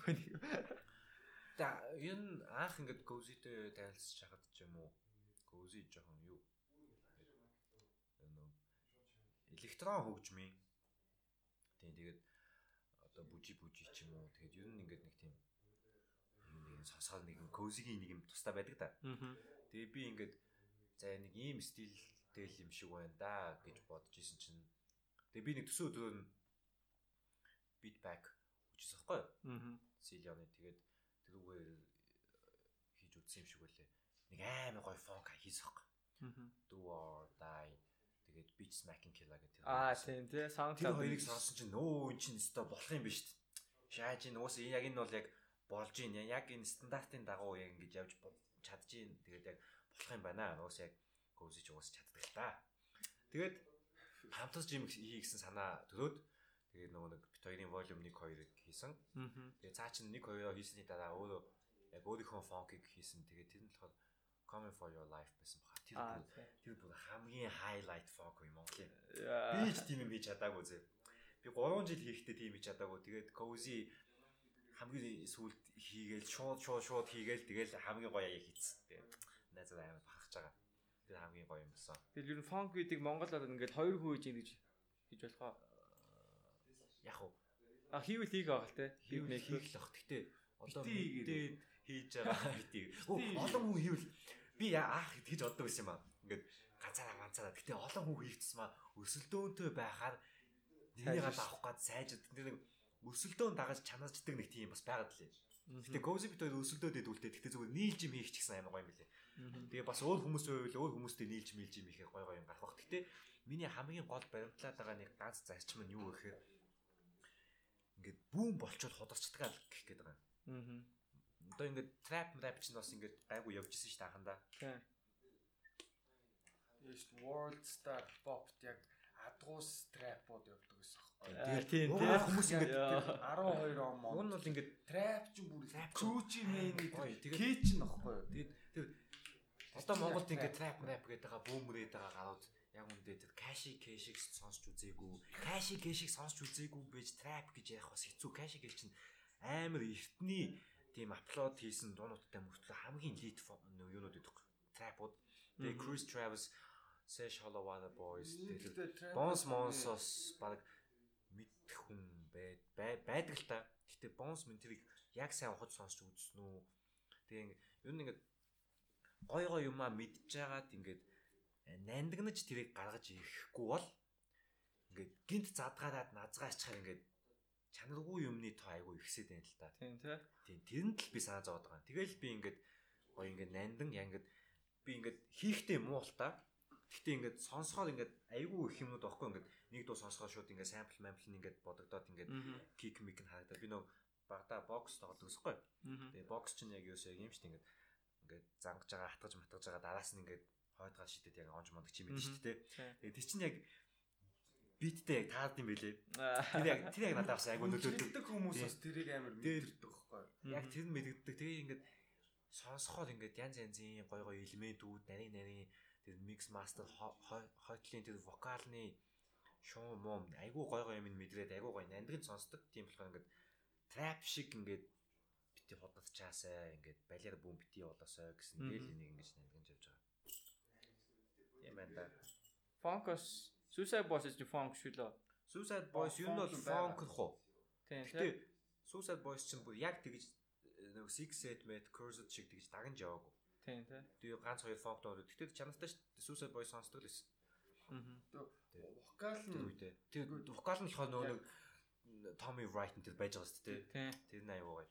Та энэ анх ингээд Cozy-тэй танилцж хахад ч юм уу. Cozy жоохон юу? Электрон хөгжмийн. Тэгээд одоо бүжи ч юм уу. Тэгээд ер нь ингээд нэг тийм нэг сонсоод нэг Cozy-гийн нэг юм тустай байдаг да. Тэгээ би ингээд за нэг ийм стилтэй юм шиг байна да гэж бодож исэн чинь тэгээ би нэг төсөө өдрөө beat pack хүчээс ахгүй юу? Силионы тэгээд тэрүүгээр хийж үзсэн юм шиг байлээ. Нэг амар гоё фонк хийсэн ахгүй. Do or die тэгээд beach smacking killer гэдэг. Тийм тий саунд тэр хоёрыг сонсон чинь нөө эн чинь өстой болох юм биш үү? Шааж ин уус яг энэ бол яг болж ин яг энэ стандартын дагуу яг ингэж явж чадчих. Тэгээд яг болох юм байна. Уус яг Cozy ч уус чаддаг л та. Тэгээд хамтарч юм хий гэсэн санаа төрөөд тэгээд нөгөө нэг бит хоёрын volume 1 2-ыг хийсэн. Тэгээд цаа чин 1 2-оо хийсний дараа өөрөө яг өөрийнхөө фонкийг хийсэн. Тэгээд тэр нь болохоор Coming for your life байсан баха. Тэр бүр хамгийн highlight funk юм Монголын. Би ч тийм юм хийж чадаагүй зэ. Би 3 жил хийхдээ тийм хийж чадаагүй. Тэгээд Cozy хамгийн сүүлд хийгээл шууд хийгээл тэгэл хамгийн гоё аяг хийцэн. Тэгээд найзад амар бахарч байгаа. Тэр хамгийн гоё юм болсон. Тэгэл ер нь funk гэдэг Монголд ингээд 2 хүн хийж ийн гэж болохоо. Яг уу. Хийвэл хийх байгаа л те. Хийвэл хийх л бах. Гэтэ одоо мэдээд хийж байгаа битий. Олон хүн хийвэл би аах гэж боддог байсан юм аа. Ингээд ганцаараа. Гэтэ олон хүн хийх тусмаа өсөлдөөнтэй байхаар нэгийг авах гад сайжид тэр нэг өсөлдөөн дагаж чанарчдаг нэг тийм бас байгаад лээ. Гэтэ Cozy бит хоёр өсөлдөөд идүүлтэй. Гэтэ зүгээр нийлж юм хийх ч гэсэн амар гоё юм билээ. Тэгээ бас өөр хүмүүс байвал өөр хүмүүстэй нийлж юм хийх гоё юм гарах бах. Гэтэ миний хамгийн гол баримтлаад байгаа нэг ганц зарчим нь юу гэхээр ингээд бүүн болчоод хударчдаг л гэх гээд байгаа. Одоо ингээд trap чинь бас ингээд гайгүй явж исэн ш тааханда. Тийм. Есть world star pop яг адгуус trap-ууд явдаг гэсэн аахгүй. Тийм хүмүүс ингээд 12 он мод. Уг нь бол ингээд trap ч бүр Gucci Mane тэгээд ч нөхгүй. Тэгээд одоо Монголд ингээд trap гэдэг байгаа бүүмрээд байгаа гарууд яг үндэ тэр Cash-ийг сонсч үзээгүй. Cash-ийг сонсч үзээгүй байж trap гэж ярих бас хэцүү. Cash-ийг чинь амар эртний тийм апплод хийсэн дуунуудтай мөртлөө хамгийн лид юунууд идэх trap-ууд. Тэгээ Chris Travis, Sesh Hollow Water Boys, Bones Monsos баг мэдэх хүн байдаг л та. Гэтэ Bones мэн тэрийг яг сайн ухаж сонсч үзсэн үү. Тэгээ ер нь ингээд гой юмаа мэдж байгаад ингээд нандинаж тэрийг гаргаж ирэхгүй бол ингээд гинт задгаараад назгаачаар ингээд чанаргүй юмны тоо айгүй ихсээд байна л та. Тийм тий. Тийм тэрэнд л би санаа зовоод байгаа. Тэгэл би ингээд гоё ингээд нандин яг ингээд би ингээд хийхтэй муу л та. Гэхдээ ингээд сонсохоор ингээд айгүй их юмнууд байхгүй ингээд нэг дуу сонсохоор шууд ингээд sample нь ингээд бодогдоод ингээд kick mic нь харагдаад би нөө багада бокс тоглодог гэсэхгүй. Тэгээ бокс чинь яг юусоо юм шүү дээ ингээд зангаж байгаа хатгаж байгаа дараас нь ингээд хойдгаар шидэд яг онж мондөг чи мэдэн шүү дээ. Тэгээ тий чинь яг би биттэй яг таард юм бэлээ. Тэр яг надад бас айгу нөлөөлдөг хүмүүс бас тэрийг амар мэдэрдэг байхгүй. Яг тэр нь мэддэг. Тэгээ ингээд сонсоход ингээд янз янзын гой гой элементүүд нарийн тэр микс мастер хотлын тэр вокалны шуу мом айгу гой гой юм мэдрээд айгу гой нандин сонсдог. Тийм болохоор ингээд трап шиг ингээд бити ходцаасаа ингээд балиар бүүн бити болоосоо гэсэн дээл энийг ингэж нандин явж байгаа. Тийм байна да. Funkos Suicide Boys is the funk шүү лөө. Suicide Boys юу нь бол funk хоо. Тийм. Гэтэ Suicide Boys ч юм бүр яг тэгж нэг Six Eight Met Cursed шиг тэгж дагнж яваагүй. Тийм тийм. Тэгээ ганц хоёр funk дуу. Гэтэ чанартай шүү дээ. Suicide Boys сонсдог л байсан. Вокал нь үедээ. Тэгээ вокал нь болохоор нөгөө Tommy Wright энэ байж байгаа шүү дээ. Тийм. Тэр нь аюугаа.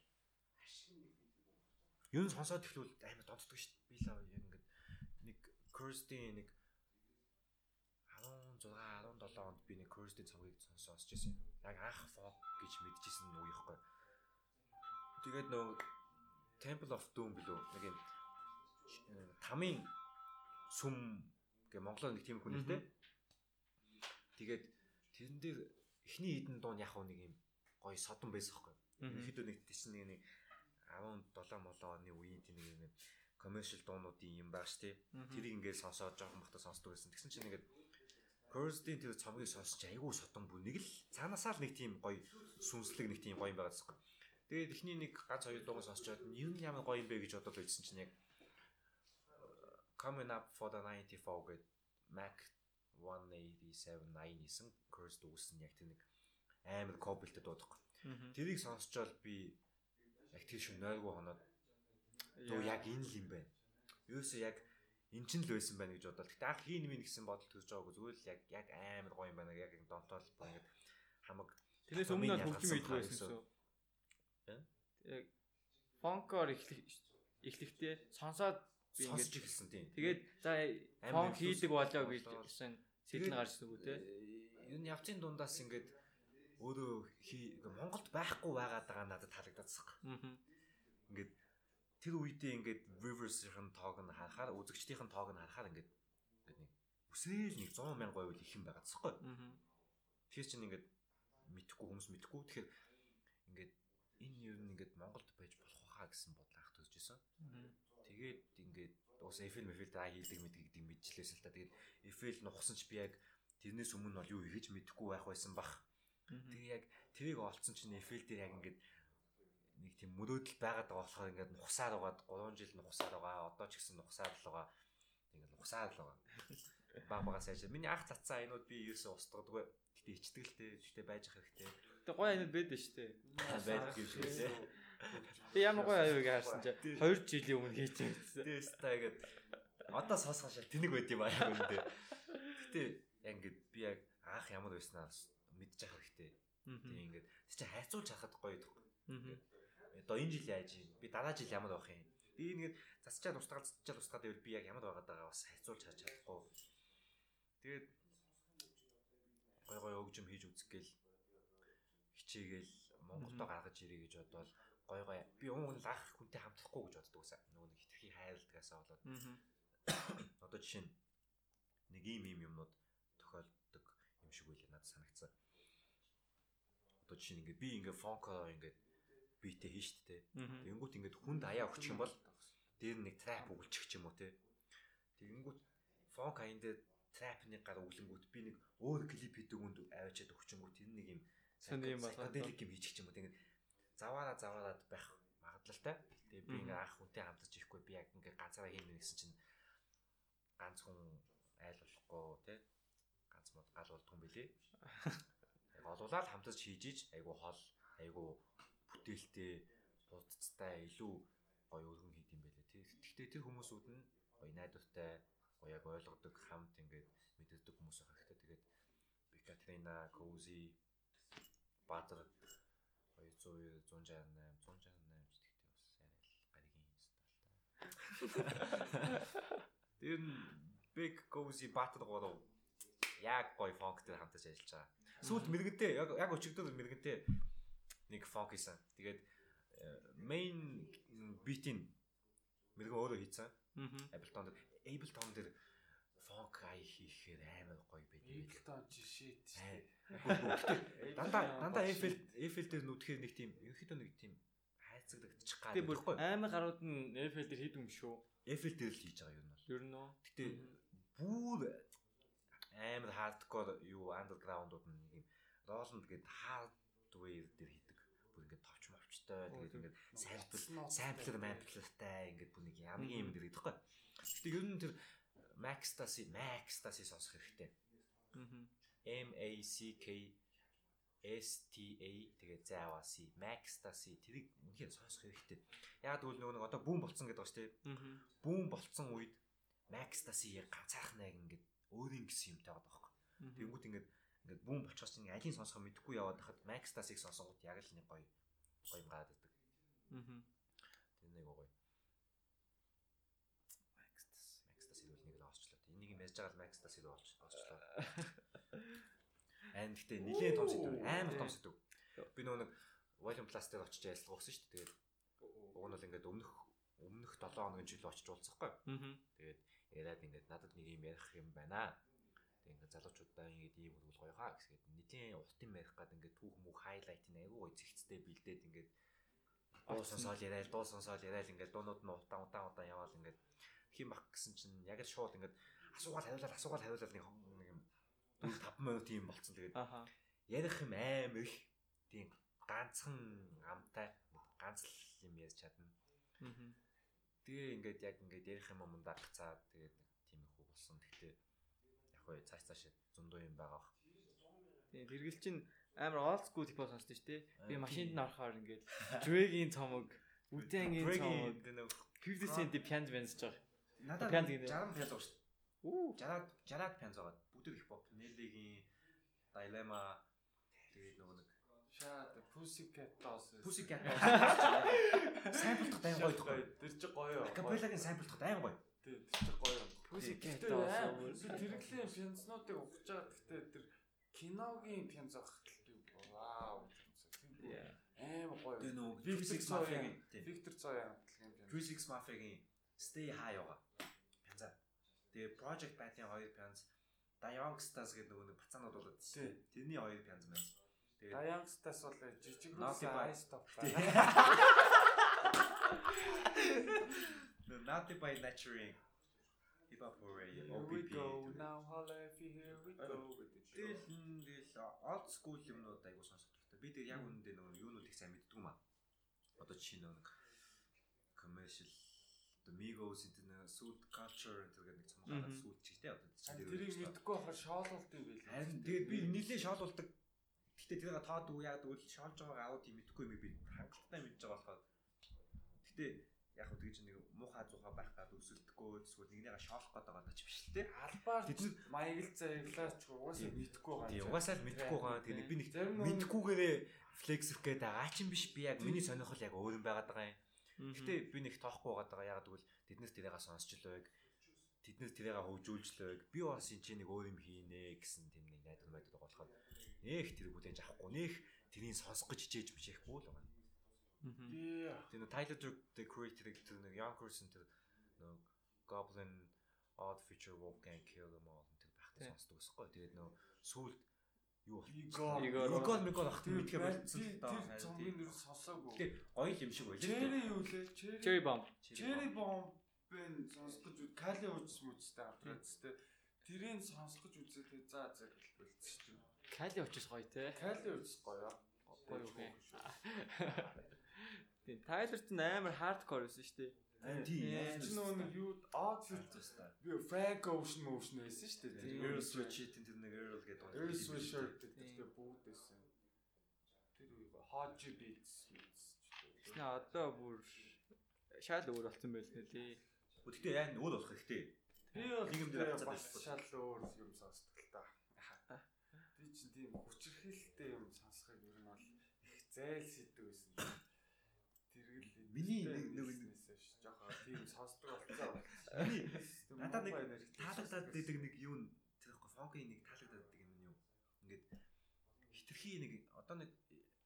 Юу нь сонсоод ихлүүл амар донтдог шүү дээ. Би л яг ингээд нэг Cursed-ийн нэг 16 17 онд би нэг Cursed-ийн цомгийг сонсож байсан. Яг анх folk гэж мэдчихсэн үе ихгүй. Тэгээд нөгөө Temple of Doom билүү нэг юм тамийн сүм гэ Монголоор нэг тийм хүн нэртэй. Тэгээд тэрэн дээр эхний хідэн дуун яг нэг юм гоё содон байсан ихгүй. Ихэд нэг тийш нэг 17 молоо оны үеийн тийм нэг commercial дуунуудын юм баг штэ. Тэрийг ингээд сонсоод жоохон бахта сонсдог байсан. Тэгсэн чинь ингээд Cursed-ийн тэр цомгийг сонсож айгүй содон бүр нэг л цаанаасаа л нэг тийм гоё сүнслэг нэг тийм гоё юм байгаа гэсэн. Тэгээд эхний нэг ганц хоёр дууг сонсчоод юу ямар гоё юм бэ гэж бодоод байсан чинь яг Coming Up for the 94 гэдэг Mac 187 9-ийн Cursed үүсэн яг тэр нэг амар кобилтэй дуудах. Тэрийг сонсчоод би яг тэр шиг нойргүй хоноод дөө яг энэ л юм байна. Юусе яг эн чинь л байсан байна гэж бодлоо. Гэтэ анх хийн минь гэсэн бодол төрж байгаагүй зүгээр л яг амар гоё юм байна. Яг донтоол ингээд хамаг тэрнээс өмнө нь хөгжим хийдэг байсан гэсэн. Яг фонкоор эхлэхдээ сонсоод би ингээд эхэлсэн тийм. Тэгээд за фонк хийдэг болоо гэж гэсэн сэтэл гарч ирсэн үү те. Юу н явцын дундаас ингээд өөрөө Монголд байхгүй байгаад байгаа надад таалагдчихсан. Ингээд тэр үедээ ингээд Rivers-ийн тоог нь харахаар үзэгчдийн тоог нь харахаар ингээд нэг үсээл нэг 100,000 байвал их юм байгаа цэхгүй. Тэгэхээр чинь ингээд мэдхгүй хүмүүс мэдхгүй. Тэгэхээр ингээд энэ юу ингээд Монголд байж болох хаа гэсэн бодол анх төрж исэн. Тэгээд ингээд уус Eiffel та хийдэг мэдгийг мэдчихлээсэн л та. Тэгээд Eiffel нухсан ч би яг тэрнээс өмнө бол юу хийж мэдэхгүй байх байсан бах. Тэгээ яг тэрийг олцсон чинь Eiffel дээр яг ингээд нэг тийм мөрөөдөл байгаад байгаа болохоор ингээд нухсаар угаад 3 жил нухсаар байгаа. Одоо ч гэсэн нухсаар л байгаа. Ингээд нухсаар л байгаа. Багаас яаж. Миний анх цацсан айнууд би ерөөсөө устгадаггүй. Гэтэ ичдэг л дээ. Гэтэ байж ах хэрэгтэй. Гэтэ гоё айнууд байдаг шүү дээ. Байдаг гэж хэлээ. Би ямар гоё аюуг харсан чи 2 жилийн өмнө хийчихсэн. Тэс таагээд одоо сонсгоо шал тэнэг байд юм аа яг үндэ. Гэтэ яг ингээд би яг анх ямар байснаа мэдчих хэрэгтэй. Тийм ингээд чи хайцуулж харахад гоё дах. Одоо энэ жил яаж юм? Би дараа жил ямар байх юм? Би ингээд засчаад устгаад байвал би яг ямар байгаад байгаа бас хайцуулж харж чадахгүй. Тэгээд гой өгжим хийж үзгээл хичээгээл Монголдо гаргаж ирээ гэж бодвол гой би уун лах хүнтэй хамтрахгүй гэж боддог байсан. Нөгөө нэг хитрхи хайрладгаасаа болоод одоо жишээ нь нэг ийм юмнууд тохиолддог юм шиг үйл надад санагцсан. Одоо жишээ нь ингээд би ингээд фонкоор ингээд битээ хийн штэ. Тэнгүүт ингээд хүнд аяа өгчих юм бол дээр нэг трап өгүүлчих юм уу те. Тэнгүүт фонк аян дээр трапны гар өглөнгүүт би нэг өөр клип хийдэг үнд аваачаад өгчөнгүүт энэ нэг юм psychedelic юм хийчих юм уу. Тэгээд заваараад байх магадлалтай. Тэгээд би ингээ анх хүнтэй хамтарч ирэхгүй би яг ингээ ганцаараа хийнэ гэсэн чинь ганц хүн айл болохгүй те. Ганц мод гал болдгоо юм билий. Яг олуулаад хамтарч хийж айгу хол айгу бүтээлтэй будцтай илүү гоё өргөн хийд юм байлээ тий. Гэхдээ тэр хүмүүсүүд нь гоё найдвартай гоё яг ойлгодог хамт ингээд мэддэг хүмүүс байх хэрэгтэй. Тэгээд Бикатрина, Коузи, Баатар 200 168 гэдэгтэй бас арай л гаригийн стайлтай. Тэр Big Cozy Баатар гоо яг гоё фонк дээр хамтарч ажиллаж байгаа. Сүүлд мэрэгэнтэй яг өчигдөр мэрэгэнтэй нэг фонк хийсэн. Тэгээд main beat-ийн мэрэгэн өөрөө хийсэн. Ableton дээр фонк ай хийхээр амар гоё байдаг. Эйфелтон жишээ тий. Дандаа Эйфел дээр нүдэхээр нэг тийм ерөнхийдөө нэг тийм хайцагдчих гад байхгүй. Амар гарууд нь Эйфел дээр хийдэг юм шүү. Эйфел дээр л хийж байгаа юм бол. Ер нь үү. Гэтэ бүр амар хардкор юу андерграундууд нь нэг юм Roland гэдэг hardware дээр хийдэг. Бүр ингээд товч мовчтой тэгээд ингээд самплертай ингээд бүр нэг ямгийн юм дээр гэдэгхгүй. Гэтэ ер нь тэр Maxtasy сонсох хэрэгтэй. MACKSTA тэгээд зааваси Maxtasy тэрийг үнэхээр сонсох хэрэгтэй. Яг тэгвэл нөгөө одоо бүүн болцсон гэдэг ба шүү дээ. Бүүн болцсон үед Maxtasy ганцаархан яг ингээд өөрийн гэсэн юмтай байгаа байхгүй. Тэнгүүд ингээд бүүн болчихсон чинь алийг сонсох мэдэхгүй яваад хахад Maxtasy-г сонсонгууд яг л нэг гоё юм гараад идэг. Тэр нэг гоё. Maxtasy бол нэг л олчлоо. Энийг юм ярьж байгаа л Maxtasy руу олчлоо. And гэхдээ нэлээд том сэдв, амар том сэдв. Би нөгөө нэг Volume Plus дээр очиж ярилцлага өгсөн шүү дээ. Тэгээд уг нь бол ингээд өмнөх 7 хоногийн жилд очиж уулзахгүй. Тэгээд яриад ингээд надад нэг юм ярих юм байна. Тэгээд ингээд залуучуудаа ингээд ийм хөрвөл гоё хаа гэсгээд нэлийн урт юм ярих гад ингээд түүх мөх хайлайт нэг айгүй гоё зэгцтэй бэлдээд ингээд дуу сонсоол яриад ингээд дуунууд нь удаан яваал ингээд хэм бах гэсэн чинь яг л шууд ингээд асуугаал хариулаад нэг юм 4-5 минут юм болцсон. Тэгээд ярих юм амар их тийм ганцхан амтай ганц л юм ярьж чадна. Тэгээ ингээд яг ингээд ярих юм мундаа гацаад тэгээд тийм их болсон. Гэхдээ яг хөө цааш зөндөө юм байгаа бах. Тийм тэргэл чинь амар old school хип хоп сонсдог шүү дээ. Би машинд нь орохоор ингээд Drake-ийн цомог, Wu-Tang-ийн цомог, 50 Cent пянз бэнсэж байгаа. Надад 60 пянз байгаа шүү дээ. 60 пянз байгаа. Бүгд хип хоп, Nelly-гийн Dilemma тэгээд нөгөө нэг Pussycat самплдах айн гоё тохой. Тэр чи гоё. Acapella-гийн самплдах айн гоё. Тэр чи гоё. Pussycat тэрэглийн пянзнуудыг ухаж байгаа. Гэхдээ тэр киногийн пянз авах вау. Аим гоё. Тэр нөгөө Physics Mafia-гийн Victor Zoya хамтлагийн пянз. Physics Mafia-гийн Stay High байгаа. Пянзаа. Тэгээ Project Bat-ийн 2 пянз, Youngsters гэдэг нөгөө бацаанууд болоод тийм. Тэрний 2 пянз байна. Youngsters бол жижиг рүүс Ice Top. No, Naughty by Nature. Hip Hop Hooray. We go now, holla if you here we go with it. Тэгэл old school юмнууд айгуу сонсох хэрэгтэй. Би тэр яг үнэндээ нөгөө юунууд их сайн мэддэг юм аа. Одоо жишээ нэг commercial the Migos into the suit culture гэдэг нэг цомгоо суут чигтэй одоо тэрийг мэдхгүй байхаар шоололт юм байл. Харин тэгээд би нэлээд шоолуулдаг. Гэтэ тэрийг тоод үг яг тэгвэл шоолж байгааг аауд юм мэдхгүй юм би хангалттай мэдж байгаа болохоор. Гэтэ яг хөө тэгж нэг муухай зуухай байх гад өсөлдөхгүй эсвэл нэгнийгээ шоолох гэдэг байгаа ч биш л те. Албаар тэд маяг л заяглаач угаасаа мэдхгүй байгаа. Тийм угаасаа л мэдхгүй байгаа. Тэгээд би нэг мэдхгүйгээрээ флексэх гээд байгаа ч юм биш. Би яг миний сонирхол яг өөр юм байгаад байгаа юм. Гэтэ би нэг тоохгүй байгаад байгаа. Яг тэгвэл тэднээс тэрийг сонсч л байг. Тэднээс тэрийг хөгжүүлж л байг. Би бас энэ чинь нэг өөр юм хийнэ гэсэн тийм нэг найдвар байдаг болохоор нэх тэр бүлэнж авахгүй нэх тэрийг сонсох гэж хичээж мчээхгүй л байгаа. Тэр Tyler the Creator гэдэг нэг Yonkers тэр нэг Goblin Odd Future Wolfgang Kill Them All тэр байхтай сонсдог усгүй. Тэгээд нөө сүүлд юу Игор ах тийм мэдхэ болсон л даа. Тэр цомгийн нэр сонсоогүй. Тэгээд гоё юм шиг байлаа. Cherry юу лээ? Cherry Bomb бэн сонсох гэж Кали ууч мүцтэй хамтраад тэрийг сонсох гэж үзээ. За болчихсон. Кали уучс гоё те. Кали ууч гоё. Гоё үгүй. Тийм Тайлер ч амар хардкор байсан шүү дээ. Тийм. Чи нөгөө нэг юу Odd Future би Frank Ocean байсан шүү дээ. Earl Sweatshirt тэр нэг Earl гэдэг байна. Earl Sweatshirt гэдэг бүгд байсан. Тэр юу Hot Beats. Тэснэ одоо бүр шал өөр болсон байл нэ лээ. Гэхдээ яг өөр болох хэрэгтэй. Би бол нэг юм дээр бас шал өөр юм сонсдог л та. Би чинь тийм хүчрхийлэлтэй юм сонсохыг ер нь бол их зайлсхийдэг байсан. Миний нэг жоохон тийм сонсдог болцоо. Миний надад нэг таалагдаад байдаг нэг юу тэр ихгүй фонкийн нэг таалагдаад байдаг юм юу. Ингээд хитрхи нэг одоо нэг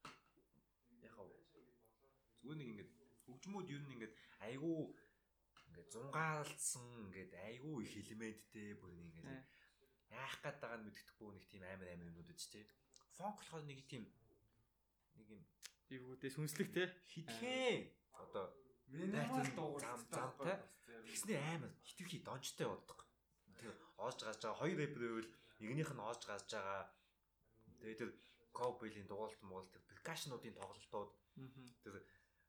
яг зүгээр нэг ингээд хөгжмүүд юу нэг ингээд айгүй ингээд зунгаалсан ингээд айгүй их элементтэй бүр ингээд яах гээд байгааг нь мэддэхгүй нэг тийм амар юмнууд үз тээ. Фонк болохоор нэг юм ивгүүдээ сүнслэг те хитгэн одоо минимал дуугартай тэгснэ амар хитгэвхий донжтой болдог. Тэр оож гаж байгаа хоёр рэпер байвал нэгнийх нь оож гаж байгаа. Тэгээд тэр Cowboy-ийн дугаалт моголт перкашнуудын тоглолтууд тэр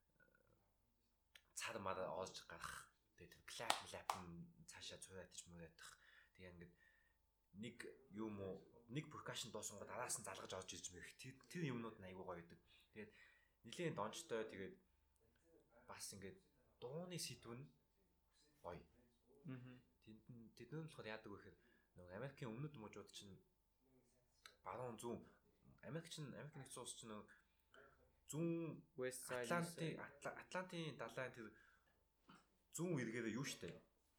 цар мар оож гарах. Тэгээд тэр клап нь цаашаа цураадч мөрөөдөх. Тэгээ ингээд нэг юм уу нэг перкашн дуусан гоо араас нь залгаж орж ирж мэрх. Тэр юмнууд нь айгүй гоё байдаг. Тэгээд нилийн донжтой тэгээд бас ингээд дууны сэдв нь гоё. Тэд нь болохоор яадаг вэ гэхээр нөгөө Америкийн өмнөд мужууд чинь баруун зүүн Америкийн нэгдсэн улс чинь нөгөө зүүн West Side Атлантын далайн тэр зүүн эргээрээ юу штэ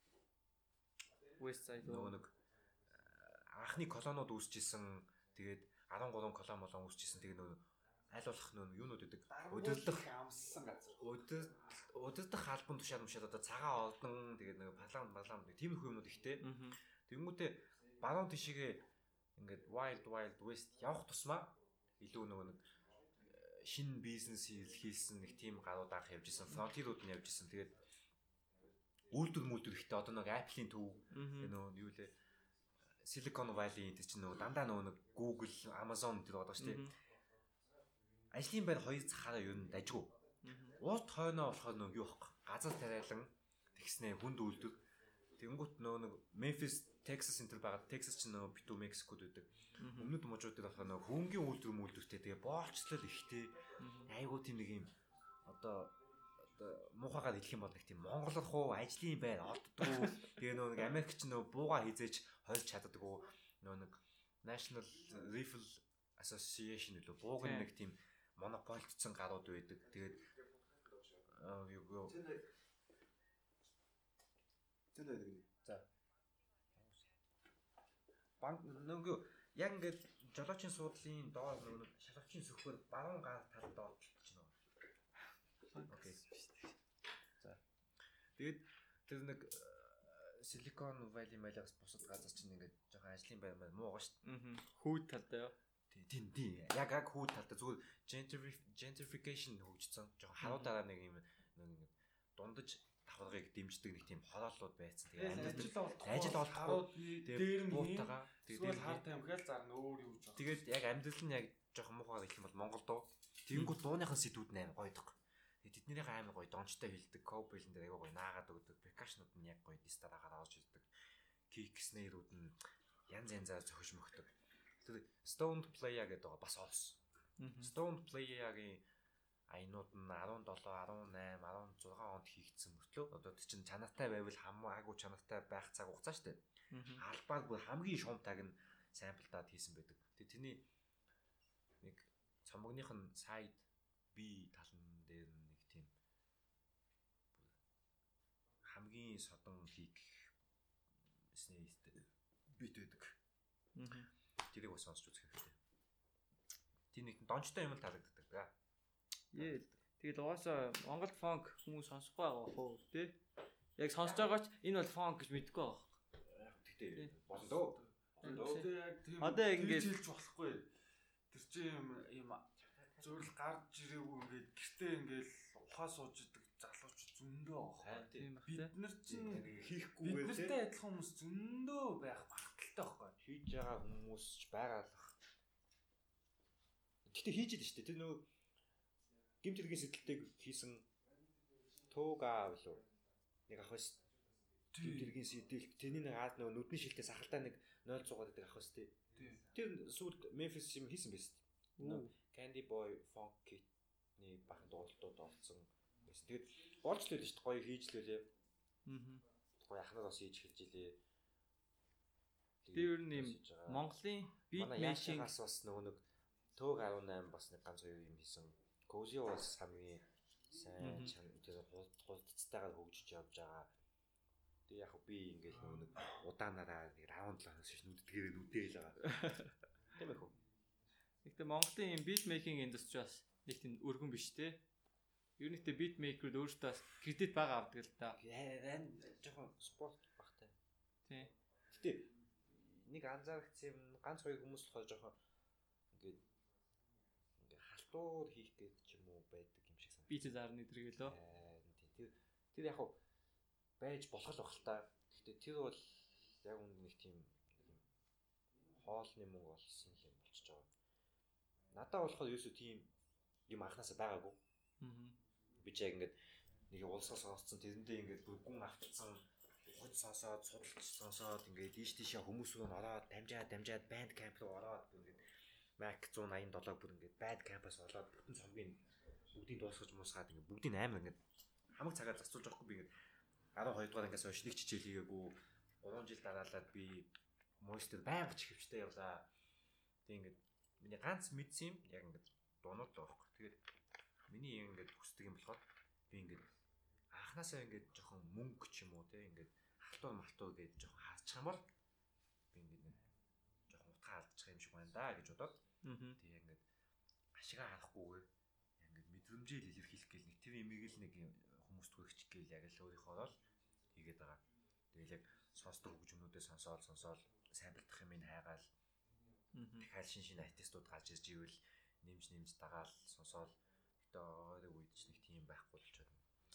West Side нөгөө нэг анхны колониуд үүсчихсэн тэгээд 13 колон үүсчихсэн тэгээд нөгөө аль болох нөгөө юунууд гэдэг өдөрлөх амссан газар өдөрдох албан тушаал одоо цагаан олдон тэгээд нөгөө парламент тиймэрхүү юмнууд ихтэй тэгэнгүүтээ баруун тишгээ ингээд wild west явах тусмаа илүү нөгөө нэг шинэ бизнес хийлсэн нэг тийм гарууд анх явж исэн фронтирууд нь явж исэн тэгээд үйлдвэр ихтэй одоо нэг Apple-ийн төв нөгөө юу лээ Silicon Valley гэдэг чинь нөгөө дандаа нөгөө Google, Amazon гэдэг байгаа шүү дээ. Ажлын байр хоёр цахаараа юу н дажгүй. Урд хойноо болохоор нөгөө юу бах газар тариалан тэгснээ хүнд үйлдвэр. Тэнгүүт нөгөө Memphis, Texas энэ төр байгаа. Texas чинь нөгөө битүү Мексикод үүдэг. Өмнөд мужууд дээр болохоор нөгөө хөнгөн үйлдвэртэй тэгээ боолчлол ихтэй. Айгуу тийм нэг юм одоо муухагаар хэлэх юм бол нэг тийм монголрох ажлын байр олддгоо. Тэгээ нөгөө нэг Америк ч нөгөө бууга хизээж хольж чаддаггүй. Нөгөө нэг National Rifle Association үлээ бууг нэг тийм монополдсон гарууд байдаг. Тэгээд юу за банк нөгөө яг ингээд жолоочийн суудлын доор нөгөө шалгавчийн сөхөр баруун гар талд доотлж байна. Окей. За. Тэгээд тэр нэг Silicon Valley малаас бусад газар чинь ингээд жоохон ажлын байр муу байгаа шүү дээ. Хүүд талтай юу? Тийм. Яг хүүд талтай зүгээр gentrification хөгжсөн. Жоохон харуудаараа нэг юм нэг дундаж давхаргыг дэмждэг нэг тийм хорооллууд байсан. Тэгээд ажил олдохгүй дээр нь буутагаа тэгээд хар тамхиал зарна өөр юу ч. Тэгээд яг амьдрал нь яг жоохон муухай гэх юм бол Монгол доо. Тэнгүүд дууныхын сэдвүүд нь амар гоёдаг. Тэднийх амар гоё дончтой хэлдэг, Cowboy-ын дээр айгаа гоё наагаад өгдөг, percussion-ууд нь яг гоё дистараагаар орж ирдэг. Kick snare-ууд нь янзаар зохиж мөхдөг. Тэр Stoned Playa гэдэг байгаа бас олс. Stoned Playa-гийн аянууд нь 17, 18, 16 онд хийгдсэн мөртлөө одоо чинь чанартай байвал хамаагүй чанартай байх цаг хугацаа шүү дээ. Албаар бүр хамгийн шуумтайг нь самплдаад хийсэн байдаг. Тэгээ тэрний нэг цомогных нь side B талн дээр нэг тийм хамгийн содон хийх снэйстэй бит байдаг. Тэрийг бас сонсч үзэх хэрэгтэй. Тэр нэг дончтой юм л таалагддаг да. Тэгээд угаасаа Монгол фонк хүмүүс сонсохгүй байгаа хөө тий. Яг сонсож байгаа ч энэ бол фонк гэж мэдэхгүй байгаа. Тэгтээ болоо. Одоо ингэж хэлж болохгүй. Тэр чинь юм зөвл гарч ирээгүй ингээд гэртээ ингээл ухаа сууж идэг залуучууд зөндөө байгаа. Бид нар чинь хийхгүйгээр биднэртэй адилхан хүмүүс зөндөө байх магадaltaй байхгүй. Хийж байгаа хүмүүс ч байгаалах. Гэтэ хийж идэв шүү дээ. Тэр нөгөө гимт хэргийн сэтэлтэйг хийсэн туугаа билүү. Нэг ах бас гимт хэргийн сэтэлт тэрний нэг аад нөгөө нүдний шилтээ сахалтай нэг 0.6 гэдэг ах бас тий. Тэр сүүлд Memphis юм хийсэн байсан. Candy Boy Funk Kit-ний бахан дуулалтууд олцсон байсан. Тэгээд болж л байлаа шүү дээ. Гоё хийж л байлээ. Гоё ахнаар бас хийж хэлж илээ. Би ер нь юм Монголын beat machine-аас бас нөгөө нэг Төг 18 бас нэг ганц хоёр юм хийсэн. Cozy бас хамгийн сайн тэр хулцтайгаар хөгжиж явж байгаа. Тэгээ яг би ингээл нөгөө нэг удаанаараа нэг раундлаас шиш нүддгээрээ нүдээл байгаа. Тийм ээ хөө. Гэхдээ Монголын beat making industry бас нэг тийм өргөн биш те. Ер нь ихтэй битмейкерүүд өөрсдөө кредит бага авдаг л та. Ран жоохон спорт багтай. Тий. Гэтэ нэг анзаарчихсан юм ганц хоёр хүмүүс болохоор жоохон ингээд халтуур хийх гээд ч юм уу байдаг юм шиг санагдав. Би ч зарны дэргэлөө. Тэр яг хав байж болох л бах л та. Гэтэ тэр бол яг нэг тийм хоолны мөнгө олсон юм болчихж байгаа. Надад болохоор ерөөсөө тийм юм анханасаа байгаагүй. Би ч яг ингээд нэг улсаа сонсцсон тэрэндээ ингээд бүр гүн автцсан хот сонсоод судалж сонсоод ингээд ийш тийшээ хүмүүс рүү ороод дамжаад банд камп руу ороод ингээд Mac 187 бүр ингээд bad campus болоод бүтэн цомгийн бүгдийг дуусгаж муусгаад ингээд бүгдийг амар ингээд хамаг цагаар зарцуулж байгаа хгүй би ингээд 12 дугаар ангиас хойш нэг чичээл хийгээгүй 3 жил дараалаад би монстер байнга ч хөвчтэй явлаа. Тэг ингээд миний ганц мэдсэн юм яг ингээд дуунууд л байхгүй. Тэгээд миний ингээд хүсдэг юм болохоор би ингээд анханасаа ингээд жоохон мөнгө ч юм уу те ингээд халтур гэж жоохон хаачих юм бол би ингээд жоохон утгаа алдчих юм шиг байна да гэж бодоод тэг ингээд ашигаа харахгүйгээр ингээд мэдрэмжээ л илэрхийлэх гээл нэг тэр имийг л нэг хүмүүст хүргэх гээл яг л өөрийнхөө л хийгээд байгаа. Тэгэл яг сонсдог хөгжмөнүүдээ сонсоод сайн бэлдэх юм ин хайгаал дахиад шин артистууд гарч ирж ивэл нэмж дагаал сонсоод гэтээ ойрог үед ч нэг тийм байхгүй болчиход.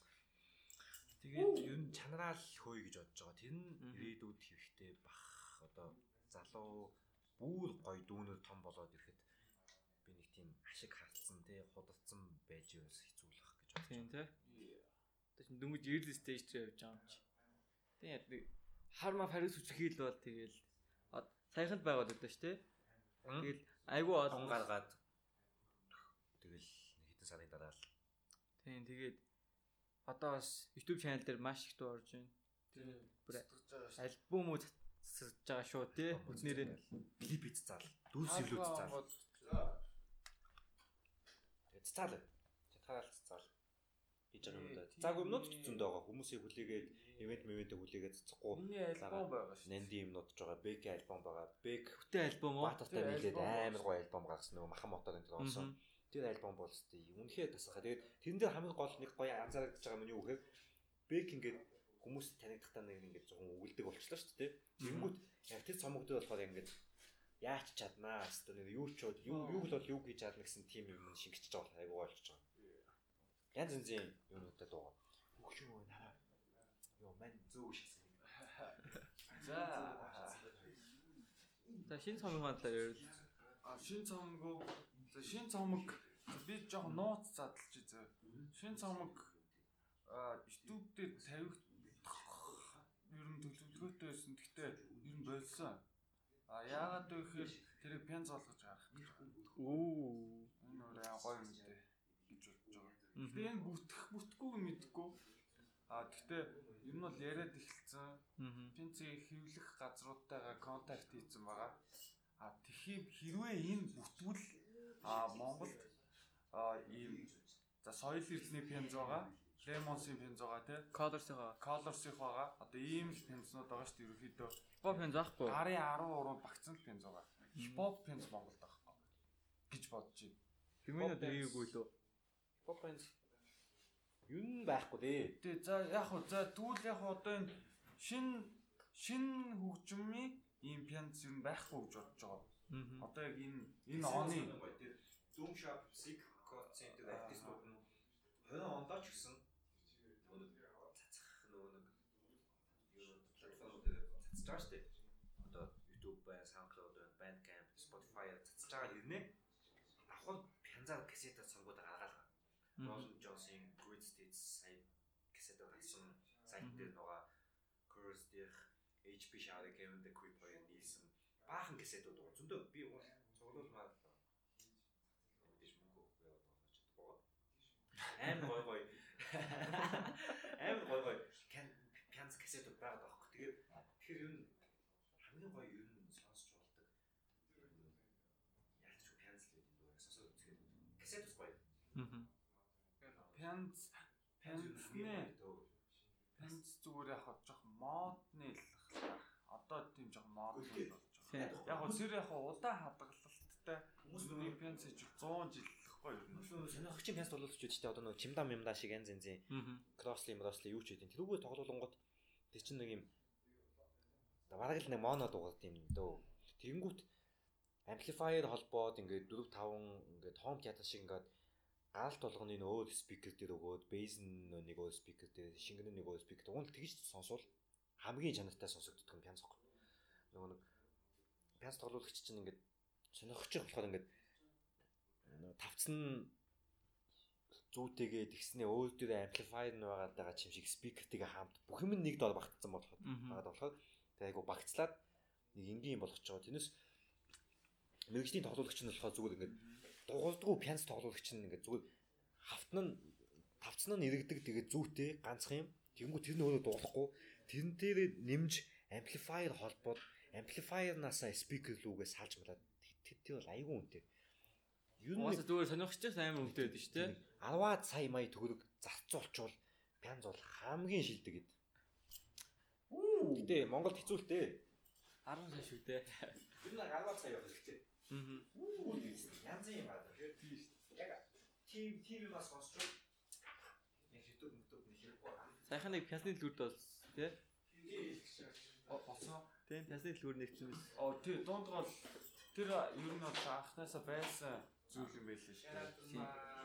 Тэгээд ер нь чанараал хөөе гэж бодож байгаа. Тэр нь ирээдүйд хэрэгтэй бах одоо залуу бүр гоё дүүнер том болоод ирэхэд би нэг тийм ашиг хартсан тий худалдсан байж бас хэцүүлэх гэж бодож байна. Тийм тий. Тэгээд дөнгөж early stage дээр явж байгаа юм чи. Тэгээд хармаа Парис үчирхийл бол тэгэл саяханд байгаад байдаг ш тий. Тэгэл айгүй олон гаргаад тэгэл нэг хэдэн сарын дараа л. Тийм тэгээд одоо бас YouTube channel дээр маш их дуу орж байна. Тийм. Альбом уу засаж байгаа шүү тий. Бүднэрээ клип хийцэл дүүс илүү цаал. Тэгээд цаал. Чатгаал цаал. Хийж байгаа юм да. Цааг юмнууд зөндөө байгаа. Хүмүүсийг хүлээгээд ивент хүлээгээд цацахгүй. Миний альбом байгаа шүү. Нэнди юмнууд ч байгаа. Бэк альбом байгаа. Бэк хөтэй альбом уу? Батартай нийлээд амар гоё альбом гаргасан нөгөө махан мотор энэ болсон. Тэр альбом бол өстэй үнэхээр тасахаа. Тэгээд тэрэн дээр хамгийн гол нэг гоё анзаарч байгаа юм юу гэхээр Бэк ингээд хүмүүс танигдахтаа нэг ингээд зөвхөн өгүүлдэг болчихлоо шүү дээ. Тэнгүүт яг тэр цомогдод болохоор ингээд яач чаднаа хэвээр нэг юу ч юу бол юу хийж чадна гэсэн тим юм шингэчихэж байгаа айгуу болчихж байгаа. Янз янзын юмнуудад дуугаа. Үгүй юу нараа. Йоо мань зөө шигсэн. За шинэ цомгийн талаар ярил. Шинэ цомог би жоохон нууц задлж үзээ. Шинэ цомог YouTube дээр тавих ер нь төлөвлөгөөтэй байсан. Гэхдээ ер нь болсон. Яагаад вэ гэхээр тэрийг пянз болгож гарах. Оо. Энэ өөрөө гоё юм дээ гэж бодож байгаа. Гэхдээ энэ бүтгэхгүй мэдхгүй. Гэхдээ ер нь бол яриад эхэлсэн. Пянцыг хэвлэх газруудтайгаа контакт хийсэн байгаа. Тэгэхээр хэрвээ энэ бүтвэл Монголд ийм за соёл эрдэнэ пянз байгаа. Лемонсын пянз байгаа тий. Colors-ийн байгаа. Одоо ийм пянзнууд байгаа шүү дээ ерөөхдөө. Хипхоп пянз аахгүй. Гарын 13 багцсан пянз байгаа. Хипхоп пянз Монголд байхгүй гэж бодож байна. Хэмээнүүд гээгүй лөө. Хипхоп пянз юу н байхгүй дээ. Тий за яг хөө тэгвэл яг одоо энэ шин хөгжмийн ийм пянз юм байхгүй гэж бодож байгаа. Одоо яг энэ оны Zoom Shop Sig Center артистууд нь 20 онд ч гэсэн цацах нөгөө юу платформуд дээр цацж байгаа шүү дээ. Одоо YouTube байна, SoundCloud байна, Bandcamp, Spotify цацж байгаа хэрнээ ахвал пянзаар кассетаар цомгууд гаргаалгаа. Rolling Johnson Great States сая кассетаар гарсан сайт дээр нөгөө Curse дээр HP Shower Game the Quick Play нийлсэн баахан кассетууд байгаа. Зөндөө би цуглуулмаар амар гой пянз кассетууд байгаа даахгүй. Тэгэхээр юу хамгийн гоё юу сонсч болдог. Яаж ч пянз л гэдэг дуу сонсоод үзэх кассет гоё. Пянз зүгээр яг жоох модны л одоо тийм жоох мод болж байгаа. Яг тэр яг удаан хадгалалттай хүмүүсийн пянз хийж 100 жил гоё ер нь. Сонирхогчийн пянс тоглолтчуд ч одоо нэг чимдам юмдаа шиг янз янзын кроссли юу ч гэдэг. Тэрүүгээр тоглолонгод тэр чинь нэг юм бараг л нэг моно дугаад юм дөө. Тэгэнгүүт amplifier холбоод ингээд 4 5 ингээд home theater шиг ингээд гаалт болгоны өөр спикер дээр өгөөд bass нэг өөр спикер дээр шингэн нэг өөр спикер уул тэгж сонсвол хамгийн чанартай сонсогддог юм пянс гоо. Нөгөө нэг пянс тоглоулагч чинь ингээд сонирхож болохоор ингээд тавцсан зүүтэйгээ тэгснээ өөр дээр amplifier нь байгаа чим шиг спикертэйгээ хамт бүх юм нэг доор багтсан болоход тэгээ айгу багцлаад нэг энгийн болгож байгаа. Тэрнээс мэрэгжлийн тоглоулагч нь болохоор зүгээр ингээд дугуулдгүй пянс тоглоулагч нь ингээд зүгээр тавцсан нь иргэдэг тэгээ зүүтэй ганцхан юм. Тэнгүү тэр нь өөрөө дуулахгүй тэрэн дээр нэмж amplifier холбоод amplifier-наасаа спикер рүүгээ салж малаад тэр бол айгүй үнэтэй. Юу нэг зүгээр сонирхчих амар үнэтэй байдаг шүү дээ. 10 сая мая төгрөг зарцуулчвал пянз бол хамгийн шилдэг гэд. Гэтэ Монголд хэцүү л дээ. 10 сая шүү дээ. Тэр нэг 10 сая явах хэрэгтэй. Янз юм байна. Тийм шүү дээ. Яг тийм бас сонсчвал яг хэдүүд нэг хэрэггүй. Сайхан нэг пясны дэлгүүрд бол тий. Болсон. Тийм пясны дэлгүүр нэгсэн биз. Тий дунд гол тэр ер нь бол анхнаасаа байсан зүйл юм байл шүү дээ.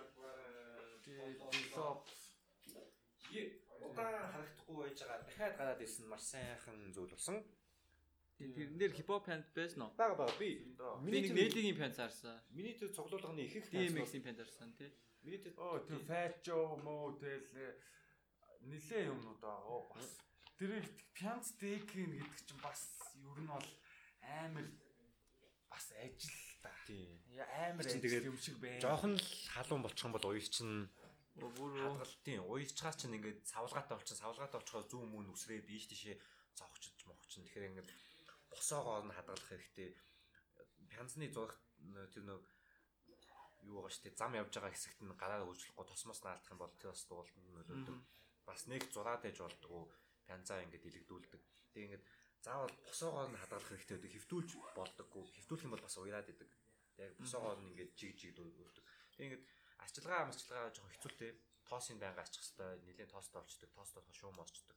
Удаан харагдахгүй байж байгаа. Дахиад гараад ирсэн маш сайхан зүйл болсон. Тэрэн дээр хипхоп пянт байсан уу? Бага би. Миний нээлгийн пянт зарсан. Миний тэр цуглуулганы ихэнх DMX-ийн пянт зарсан тий. Миний тэр тэр фачо мөө тэл нилээ юмнууд байгаа. Бас тэр пянц декин гэдэг чинь бас ер нь бол амар бас ажил та. Амар ажил юм шиг байна. Жохон л халуун болчих юм бол уяр чинь бүр хадгалтын уярчгаа чинь ингээд савлгаатай болчихоо зүүн мөн үсрээд ийш тийшээ зовхчиж мохчин. Тэгэхээр ингээд босоогоор нь хадгалах хэрэгтэй. Пянцны зурх тэр нэг юу байгаа штэ зам явж байгаа хэсэгт нь гараа хөвжлөхгүй тосмоос наалдах юм бол тэр бас дууланд нөлөөлдөг. Бас нэг зураад ээж болдгоо пянцаа ингээд илэгдүүлдэг. Тэг ингээд заавал босоогоор нь хадгалах хэрэгтэй байдаг. Хөвтүүлж болдоггүй. Хөвтүүлэх юм бол бас уяраад идэг. Тэг босоогоор нь ингээд жиг дүүлдэг. Тэг ингээд арчилгаа жоохон хэцүүтэй. Тоосын байнга арчих хэвээр нэлийн тоостой болчдөг. Тоостой шуум болчдөг.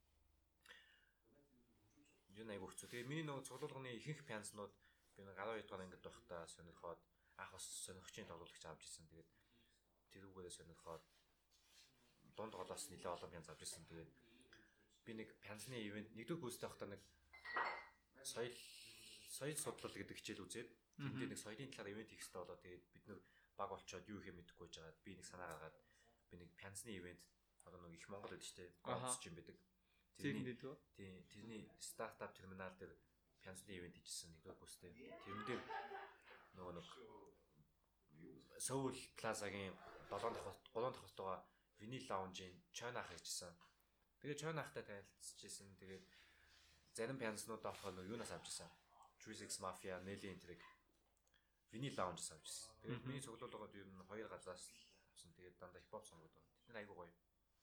Юу нэг хэцүү. Тэгээ миний нөгөө цуглуулганы ихэнх пянцнууд би нэг 12 дугаар ангид байхдаа сонирхоод анх бас сонирхчийн тоглоулагч авч ирсэн. Тэгээд тэрүүгээрээ сонирхоод дунд голоос нэлээ олон пянц авч ирсэн. Тэгээд би нэг пянцны ивент нэгдүгээр курстэй байхдаа нэг соёл судлал гэдэг хичээл үзээд тэнд нэг соёлын талаар ивент хийх хэрэгтэй болоо. Тэгээд бид нэг баг болчоод юу хийх мэдэхгүй жагаад би нэг санаа гаргаад би нэг пянцны ивент одоо нэг их Монгол гэдэг чинь гонц юм байдаг. Тэрний стартап терминал дээр пянцны ивент хийжсэн нэгдүгээр курстэй. Тэрэн дээр нөгөө нэг Соул Плазагийн 3 дахь хотогоо винил лаунжийн Чойнах хийжсэн. Тэгээд Чойнахтай танилцчихсэн. Тэгээд зарим пянцнууд авах нь юунаас авч ирсэн. Juice Mafia, Nelly энтриг винил лаунжаас авч ирсэн. Тэгээд миний цуглуулгад ер нь 2 газраас авсан. Тэгээд дандаа хипхоп сонгоод байна. Тэд айгүй гоё.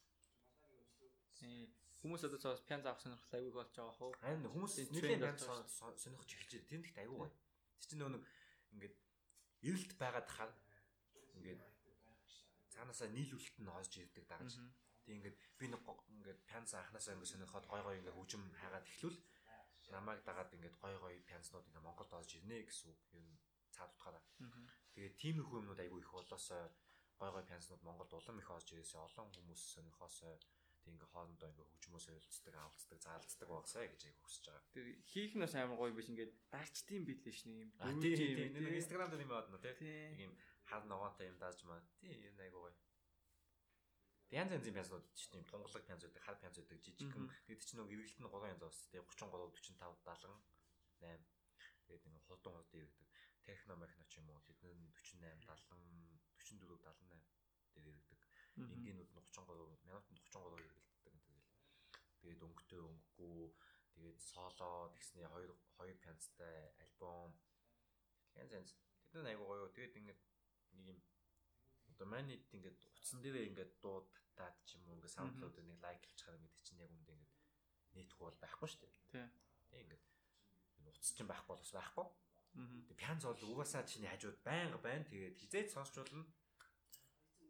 Хүмүүс одоо цаас пянц авах сонирхол айгүй болж байгаа хөө. Харин хүмүүс нэлийн пянц сонирхож эхэлж байна. Тэнд ихт айгүй гоё. Тэр чинь нөгөө ингээд эрэлт байгаад хаа ингээд цаанаасаа нийлүүлэлт нь хоосж ирдэг дагаж. Тэг ингээд би нэг ингээд пянц анханасаа ингээд сонирхоод гой ингээд хөгжим хайгаад эхлүүл намайг дагаад ингээд гой пянцнууд ингээд Монголд орж ирнэ гэсэн үг юм цаад утгаараа. Тэгээд тиймэрхүү юмнууд айгүй их болоосоо гой пянцнууд Монголд улам их орж ирээсээ олон хүмүүс сонирхоосоо тэг ингээд хоорондоо ингээд хөгжмөөс ойлцдаг, авалцдаг, заалцдаг багсаа гэж айгүй хүсэж байгаа. Тэг хийх нь бас амар гоё биш ингээд дарчдсан билээ шнэ юм. Тийм нэг Instagram дээр юм байна тий. Нэг юм хар ногоотой юм дааж маа. Тийм юм айгүй гоё. Янз янзын пянцнууд ч тийм тунгалаг пянц байдаг, хар пянц байдаг, жижигхэн. Тэгээд чинь нөгөө эргэлт нь 3 янз бас тий 33, 45, 70, 8. Тэгээд нэг хурдан ирдэг. Техно мехно ч юм уу тэд нь 48, 70, 44, 78 дээр ирдэг. Энгийнүүд нь 33, минутанд 33 иргэлтдэг. Тэгээд өнгөтэй өнгөгүй тэгээд соло тэгсний 2 пянцтай альбом янз тэд нь айгуу гоё. Тэгээд ингээд нэг юм одоо манайд ингээд утсан дээрээ ингээд дууд татаад ч юм уу ингээд саундклууд нэг лайк хийчихээр ингээд чинь яг үндэ ингээд нийтгүй бол байхгүй шүү дээ. Тий. Тэг ингээд утас чинь байхгүй бол бас байхгүй. Тэг пянц бол угаасаа чиний хажууд байнга байна. Тэгээд хизээд сонсч болно.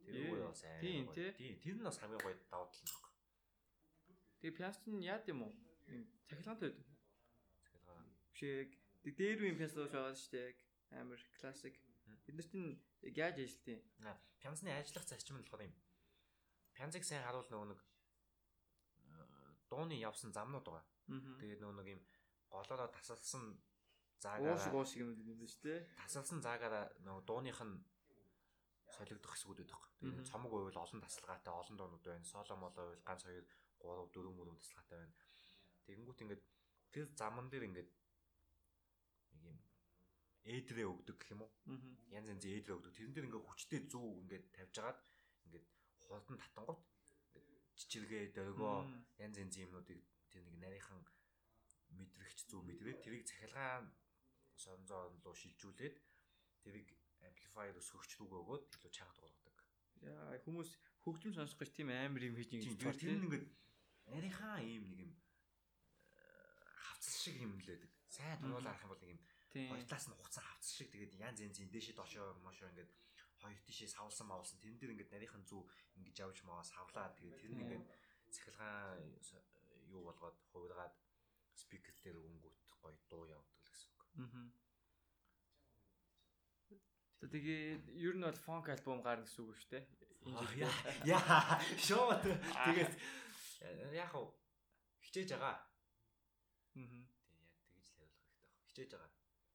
Тэр үгүй бас тийм тий. Тэр нь бас хамгийн гоё давуу тал нь баг. Тэгээ пианист нь яад юм уу? Цахилгаантай байдаг. Цахилгаан. Бишээ дээр үеийн пианист байгаа шүү дээ. Амар классик. Бид нарт нь яг яаж ажиллтыг? Пианисны ажиллах зарчим нь болохоор юм. Пианцыг сайн харуул нөгөө нэг дууны явсан замнууд байгаа. Тэгээд нөгөө нэг юм голоороо тасалсан заагаараа уушиг юм байна шүү дээ. Тасалсан заагаараа нөгөө дууных нь солигдох хэсгүүд байдаг. Тэгээд цомог байвал олон тасалгаатай олон дуунууд байна. Соло моло байвал ганц 2 3 4 мөрөнд тасалгаатай байна. Тэгэнгүүт ингээд тэр заман дээр ингээд нэг юм ээдрээ өгдөг гэх юм уу? Янз янзын ээдрээ өгдөг. Тэрэн дээр ингээд хүчтэй зүү ингээд тавьж агаад ингээд хурдан татангууд ингээд чичиргээ дөргөө янз янзын юмнуудыг тэр нэг нарийнхан мэдрэгч зүү мэдрээд тэрийг цахилгаан сонзоон руу шилжүүлээд тэрийг амплифайер өсгөгч рүүгээ өгөөд илүү чанга дуургадаг. Яа хүмүүс хөгжим сонсох гэж тийм амар юм хийж ингэж байна. Тэр нь ингээд нарийнхаа ийм нэг юм хавцал шиг юм л байдаг. Сайн дуруулаад арах юм бол нэг юм хоёр талаас нь хуцсан хавцал шиг тэгээд янз янзын дээшээ дошоо мошоо ингээд хоёр тишээ савлсан мавлсан тэрэн дээр ингээд нарийнхан зүү ингэж явж маа савлаа тэгээд тэр нь ингээд цахилгаан юу болгоод хувиргаад спикер дээр өнгөт гоё дуу явуулдаг гэсэн үг. Тэгээд ер нь бол фонк альбом гарна гэсэн үг шүү дээ. Яа шоо тэгээд яг хав хичээж байгаа. Тэгээд яг тэгж л хариулах хэрэгтэй баг. Хичээж байгаа.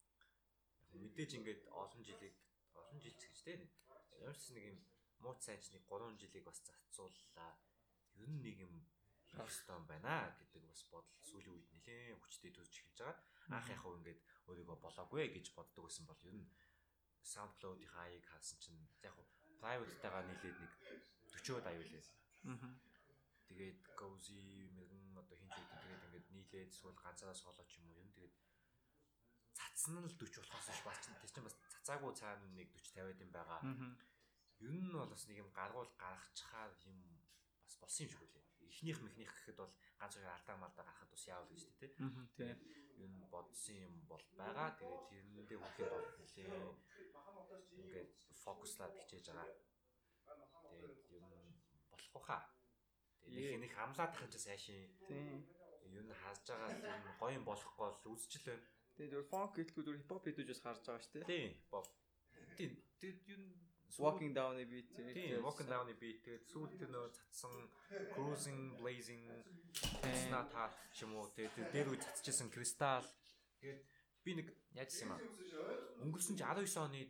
Яг мэдээж ингээд олон жил гэж дээ. Ямар ч нэг юм мууц сайнч нэг 3 жилийг бас зарцууллаа. Ер нь нэг юм хастан байна гэдэг бас бодол сүүлийн үед нэлээд хүчтэй төсөж эхэлж байгаа. Анх яг хав ингээд өөрийгөө болоогүй гэж боддог байсан бол ер нь SoundCloud-ийн хаяг хаасан чинь яг private-тайгаа нийлээд нэг 40-од аюулээ. Тэгээд Gozi мэрэгэн одоо хинт тэгээд ингээд нийлээд эсвэл ганцаараа соло ч юм уу юм тэгээд цацсан л 40 болохоос ш бас чинь тэр чинь бас цацаагүй цаана нэг 40 50-аад юм байгаа. Ер нь бол бас нэг юм гаргуул гаргачихаар юм бас болсон юм шиг үлээ. Эхнийх гэхэд бол ганц хоёр алдаа малдаа гарахад бас яавал гэж тий. Тийм. Ер нь бодсон юм бол байгаа. Тэгээд тэрэндээ хүрэхэд бол нэлээ ингээд фокуслаад хичээж байгаа. Тэгээд ер нь болохгүй хаа. Тэгээд нэг хамлаад тахын ч сайшин. Тийм. Ер нь хааж байгаа юм гоё юм болохгүй бол үзчихэл байна. Тэгээд фонк гэлгүй зөв хипхоп хийдүүжээс харж байгаа шүү дээ. Тийм. Тийм. Тэгээд ер нь Walking down-ы beat. Тийм, walking down-ы beat. Тэгээд сүүлд тэр нөө цацсан cruising, blazing, not hot ч юм уу. Тэгээд дээр үе цацчихсан crystal. Тэгээд би нэг яаж юм аа. Өнгөрсөн чи 19 оны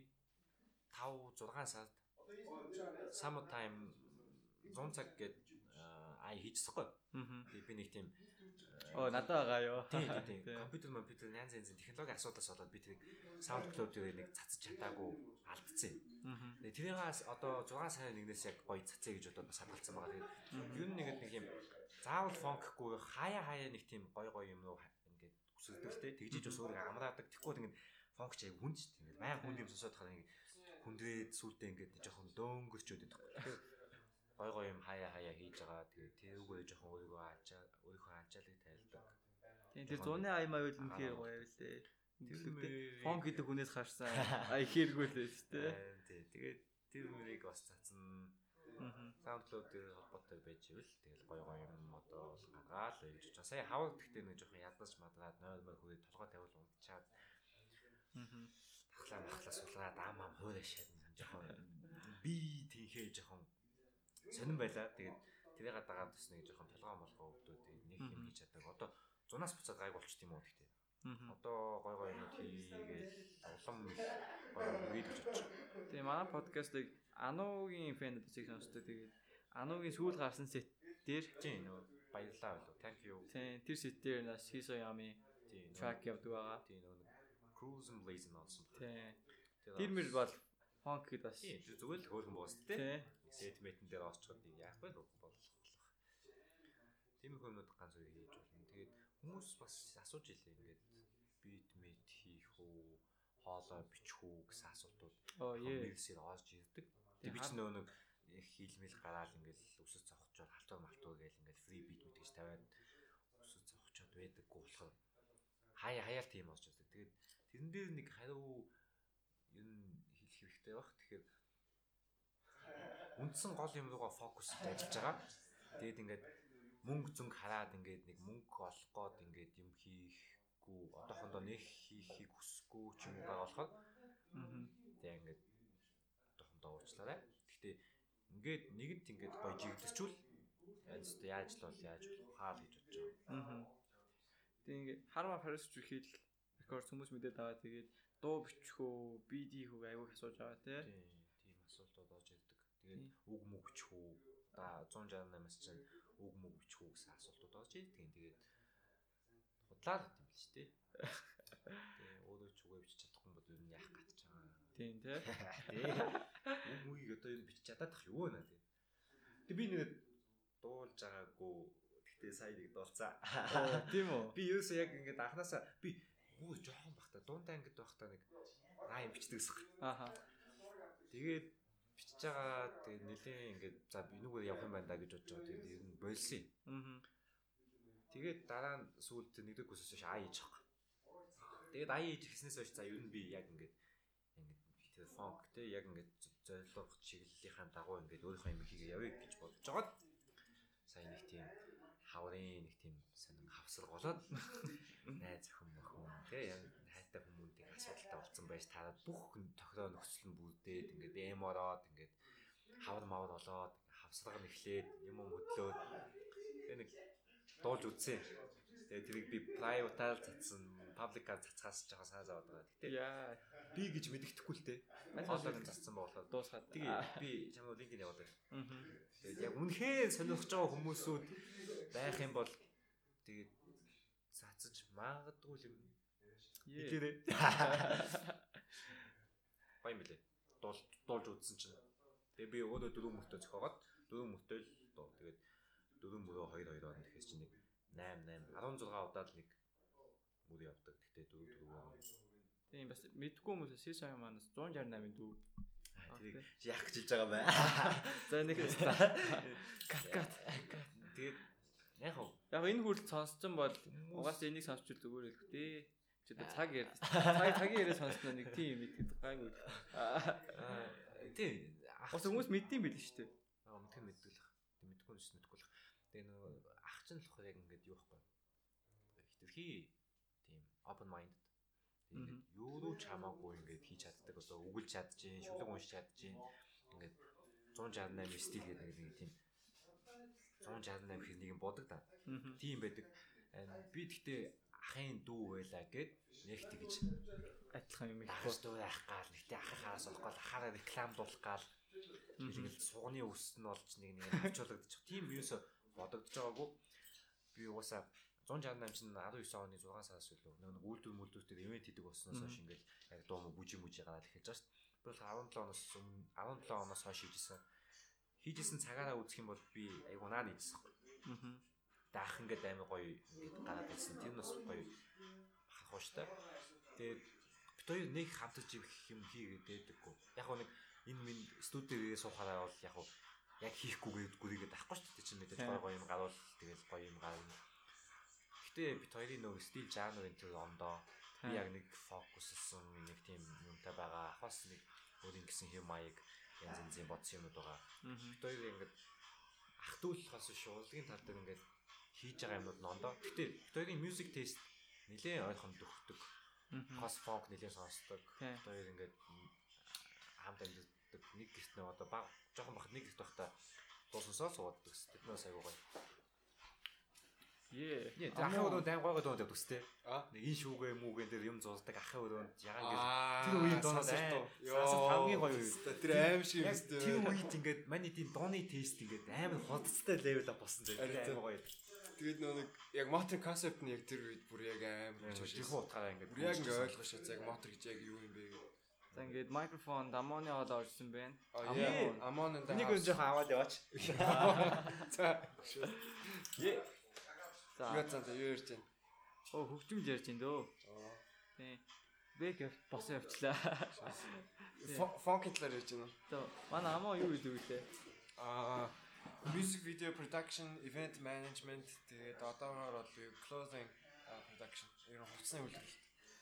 5 6 сард summertime 100 цаг гээд хийчихсэхгүй. Тэгээд би нэг тийм надад байгаа ёо. Тийм. Компьютер янз янзын технологийн асуудлаас болоод би тэрийг SoundCloud дээр нэг цацж чадаагүй алдсан юм. Тэгээд тэрээс одоо 6 сарын 1-ээс яг гоё цацъя гэж бодоод бас хадгалсан байгаа. Тэгээд ер нь нэг юм заавал фонкгүй хаяа нэг тийм гоё юм руу ингээд өсөлдөлтэй тэгжиж бас өөрийгөө амраадаг. Тэгэхгүй ингээд фонк ч яг хүнд ч тийм байнга хүнд юм сонсоод тахад ингээд хүндрээд сүултээ ингээд жоохон дөөнгөрчөөд байдаг. Гоё юм хаяа хийж байгаа. Тэгээд тэрүүгээр жоохон өөрийнхөө ачаалыг тайлдаг. Тийм тэр 100-ны аймаа байвал үнэхээр гоё байлээ. Фонк гэдэг хүнээс харсан ихээргүй л шүү дээ. Тэгээд тэр мөрийг бас цацсан. SoundCloud дээр холбоотой байж ивэл тэгэл гоё юм одоо гаргаал гэж бодож. Сая хавар гэхдээ нэг жоохон ядаж мадраад 0 хүрээд толгой тавил унтчаад. Тахлаа сулгаад аамаа хуурай шаад жоохон би тийхээ жоохон сонирн байлаа. Тэгээд тэрийг дагаад бас нэг жоохон толгой молгоо өгдөө нэг юм хийж чаддаг. Одоо зунаас буцаад гайг болчт юм уу гэхдээ. Одоо гоё юм хийгээл улам гоё видео хийж чадчих. Тэгээ манай подкастыг Анугийн фэнүүд зэг сонсдог. Тэгээд Анугийн сүүл гарсан сет дээр тийм нөө баярлалаа болов. Thank you. Тийм тэр сет дээр нас хийсо ями track явдаг байгаа. Тийм нөө cruising blazing болсон. Тийм. Тэр мөр бол фонк гэд бас зүгээр л хөөрхөн боос тээ. Сетментэн дээр оочход яах вэ болох. Тийм их юмуд ганц үе хийж болно. Тэгээд хүмүүс бас асууж илээ ингээд бит мэд хийх үү, хоолой бичих үү гэсэн асуултууд комментсээр орж ирдэг. Тэгээд би ч нөө нэг хийлмэл гараал ингээд өсөж зовхочоор халтур гээл ингээд фри бит мэд гэж тавиад өсөж зовхочоод байдаггүй болохоор хаяал тийм орж ирдэг. Тэгээд тэрэн дээр нэг хариу юм хэлэх хэрэгтэй баг. Тэгэхээр үндсэн гол юм руугаа фокус ажиллаж байгаа. Тэгээд ингээд мөнгө зүнг хараад ингээд нэг мөнгө олох гээд ингээд юм хийхгүй одоохондоо нэг хийхийг хүсэхгүй ч юм байгаа болохоор тэгээд ингээд одоохондоо уучлаарай. Гэхдээ ингээд нэгэнт ингээд гоё жигдэрчүүл яаж л бол яаж болох хаа л гэж бодож байгаа. Тэгээд ингээд харма Paris хийх рекорд хүмүүс мэдээд байгаа. Тэгээд дуу бичихөө, BD хүү аягүй асууж байгаа тий. Тийм асуултууд орж ирдэг. Тэгээд үг мөг бичихүү. 168-аас чинь үг мөг бичихүү гэсэн асуултууд орж ирдэг. Тэгээд худлаа л юм л шүү дээ. Тэгээд өөрөө ч үгээ бичиж чадахгүй бол юу яах гэж байгаа. Тийм тий. Үг мөгийг одоо юу бичиж чадах юу вэ наа тий. Тэгээд би нэг дуулж байгаагүй. Гэхдээ сая нэг дуулцаа. Тийм үү. Би ерөөсөө яг ингээд анханасаа би жоохон бахта дундаа ингээд байхдаа нэг юм бичдэг гэсэн. Ааха. Тэгээд бичиж байгаа тэгээд нэлээ ингээд за би нүгээр явах юм байна да гэж бодож байгаа. Тэгээд ер нь болсон. Тэгээд дараа нь сүүлд нэгдэг хүсэж ш аа хийж байгаа. Тэгээд аа хийж гиснээс хойш за ер нь би яг ингээд фонк те яг ингээд зорилго чиглэлийнхаа дагуу ингээд өөрийнхөө юм хийгээ явъя гэж бодож жагаад сая нэг тийм хаврын нэг тийм сонин хавсар голоод найз охин те яг хайтай хүмүүстийг асуудалтай болсон байж таарад бүх тохироо нөхцөл нь бүрдээд ингээд эм ороод ингээд хавар мавар болоод хавсарга нэхлээд юм хөдлөөд тэгээ нэг дуулж үтсэн. Тэгээ тэрийг би private-аар цацсан, public-аар цацгаас жоохон санаа зовоод байгаа. Гэтэ яа би гэж мэддэхгүй л те. Хоолойг цацсан болохоор дуусгаад. Тэгээ би чамд линкийг явуулдаг. Тэгээд яг үнэхээр сонирхож байгаа хүмүүсүүд байх юм бол тэгээд цацаж магадгүй юм. Хэлээрээ. Гоё юм билээ. Дуулж үзсэн чинь. Тэгээ би өөрөө 4 мөртөө зохиогоод 4 мөртөө л дуу. Тэгээд 4 мөрөө 2 орно гэхээс чинь нэг 8 16 удаад нэг мөр явдаг. Гэтэ 4. Тийм бас мэдгүй хүмүүс CSI манаас 168-ын дүү. тэрийг яах гэж хэлж байгаа бай. За нэг кат. Тэгээд яг энэ хүртэл сонссон бол угаасаа энийг сонсчул зүгээр л хөө. Чи цаг цагийн яриа сонссноо нэг тийм мэдхэд гайгүй. Тийм. Бас хүмүүс мэддэм байл шүү дээ. Мэдгүй мэддэг л. Мэдгүй нь мэдгүй л. Тэгээ нөгөө ах чинь л яг ингээд юу байхгүй. Хитрхи тийм open minded. Тэгээд юу ч хамаагүй ингээд хийж чаддаг. Одоо үгэлж чадчихээн, шүлэг уншиж чадчихээн. Ингээд 168 стил гэдэг нэг тийм 168 хэр нэг юм бодог та. Тийм байдаг. Би гэхдээ ахын дүү байлаа гэд нэг тэгж адилхан юм их дүү яах гал нэгтэй ахихаас олох гал ахаараа рекламдуулах гал тэгэл сугны өс нь болж нэг авчуулагдчих. Тийм юусо бодогдож байгаагүй. Би угаасаа 168 чинь 19 оны 6 сараас үлээ нэг үйлдвэр мүлдвэртэй ивент хийдэг болсноос хойш ингээл яг дуу бүжи гараад эхэлж байгаа шүү дээ. Би 17 оноос хойш хийжсэн цагаараа үзэх юм бол би айгу наа нийцсэн. Даах ингээд амар гоё ингээд гараад ирсэн. Тэр нь бас гоё бахархуу шүү дээ. Тэгээд бид хоёр нэг хамтарч юм хийгээд байдаггүй. Яг нэг энэ минь студио суухаараа бол яг хийхгүйгээд гүрийгээд авахгүй шүү дээ. Чи мэдээж гоё юм гарвал тэгэл гоё юм гарна. Гэтэ бид хоёрын нөгөө стил жанрын тэр ондоо би яг нэг фокуссэн нэг тийм юмтай байгаа. Хас нэг өөрийн гэсэн хэм маяг янз янзын бодсон юмуд байгаа. Бид хоёр ингээд ах дүүлхээс шуулгын тал дээр ингээд хийж байгаа юмуд нь ондоо. Гэтэ бид хоёрын music taste нэлээд ойрхон дөхдөг. Хас фонк нэлээд сонсдог. Бид хоёр ингээд хамт амьддаг нэг гэрт нэг одоо баг жоохон бахад нэг гэрт байхдаа дуусансаа суудаг. Тэднээс аягүй гоё. Ахын өрөөнд айн гойгод дуудаг төстэй. Нэг энэ шүүгээ мүүгэн дээр юм зурдаг ахын өрөөнд ягаан гэж тэр үеийн дуунаас хамгийн гоё үе. Тэр аим шиг юм шүү дээ. Тэр үед ингээд маний тийм дууны тест ингээд амар худалдаа левел болсон зэрэг амар гоё. Тэгээд нэг яг мотор концепт нь яг тэр үед бүр яг амар жих утгаараа ингээд бүр яг ингээд ойлгож шээ яг мотор гэж яг юу юм бэ гэдэг. За ингээд микрофон дамооны хол орсон байна. Амон энэ нэг нь жоохон аваад яваач. За. За юу ярьж байна? Хөгжмөл ярьж байна дөө. Тийм. Бэк босон явчлаа. Фонкийн талаар ярьж байна уу? За манай амаа юу гэдэг вэ? Music video production, event management тэгээд одоогоор бол clothing production. Ер нь хувцсны үйлдвэрлэлт.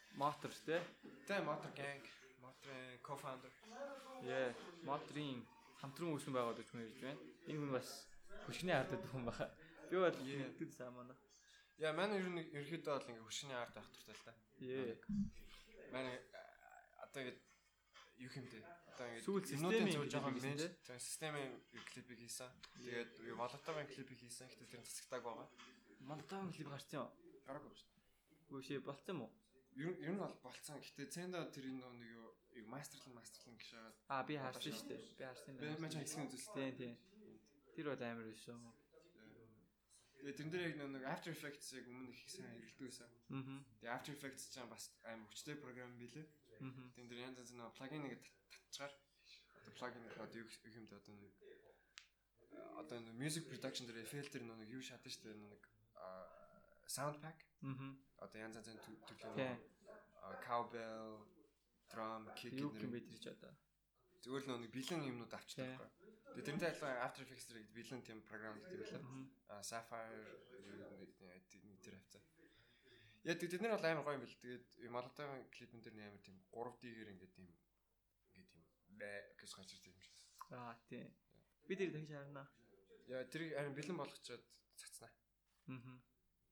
Мотор тий? Тэ мотор gang, моторын co-founder. Моторын хамтран үүсгэн байгуулж хүн ирж байна. Энэ хүн бас хөшгөний ард гэдэг хүн баха. Би бол тэгдэг самана. Яа, манай ерөнхийдөө бол ингээ хөшгөний ард байх туртай л та. Манай одоо ингэ юу хэмтэй. Одоо ингэ системийн зөв жоохон менж системийн клипийг хийсэн. Тэгээд Молотовын клипийг хийсэн. Гэхдээ тэр засагтааг байгаа. Молотовын клип гарсан юу? Гараагүй шүү дээ. Үгүй шээ болцсон юм уу? Ер нь бол болцсон. Гэхдээ цэнда тэр нэг юу мастерлан гэж би харсан шүү дээ. Би харсан. Би мань хэсгийн үзүүлсэн. Тийм. Тэр бол амар байсан. Тэгээд тэрэн дээр яг нэг After Effects-ийг өмнө их сайн хэрэглэдэг байсан. Тэгээд After Effects ч бас амар хүчтэй програм билээ. Тэгээд тэр янз янз нэг плагиныг татчихаар одоо плагин одоо юу юм бэ одоо нэг music production дээр filter нэг юу шатна шүү дээ нэг sound pack. Одоо янз янзын төрлөө cowbell, drum, kick юу юм бэ тэр ч одоо. Зүгээр л нэг бэлэн юмнууд авчдаг байхгүй. Тэгээд тэрнтэй адилхан After Effects дээр бэлэн тийм програм гэдэг байлаа. Sapphire тэр хавцаа. Яа тэд нар бол амар гоё юм бэл. Тэгээд Молотовын клипэн дээр амар тийм 3D-гээр ингээд тийм гэж гарч ирсэн юм шиг. Тийм. Би тэр дахиж харна. Яа тэр харин бэлэн болгочоод цацнаа. Тий.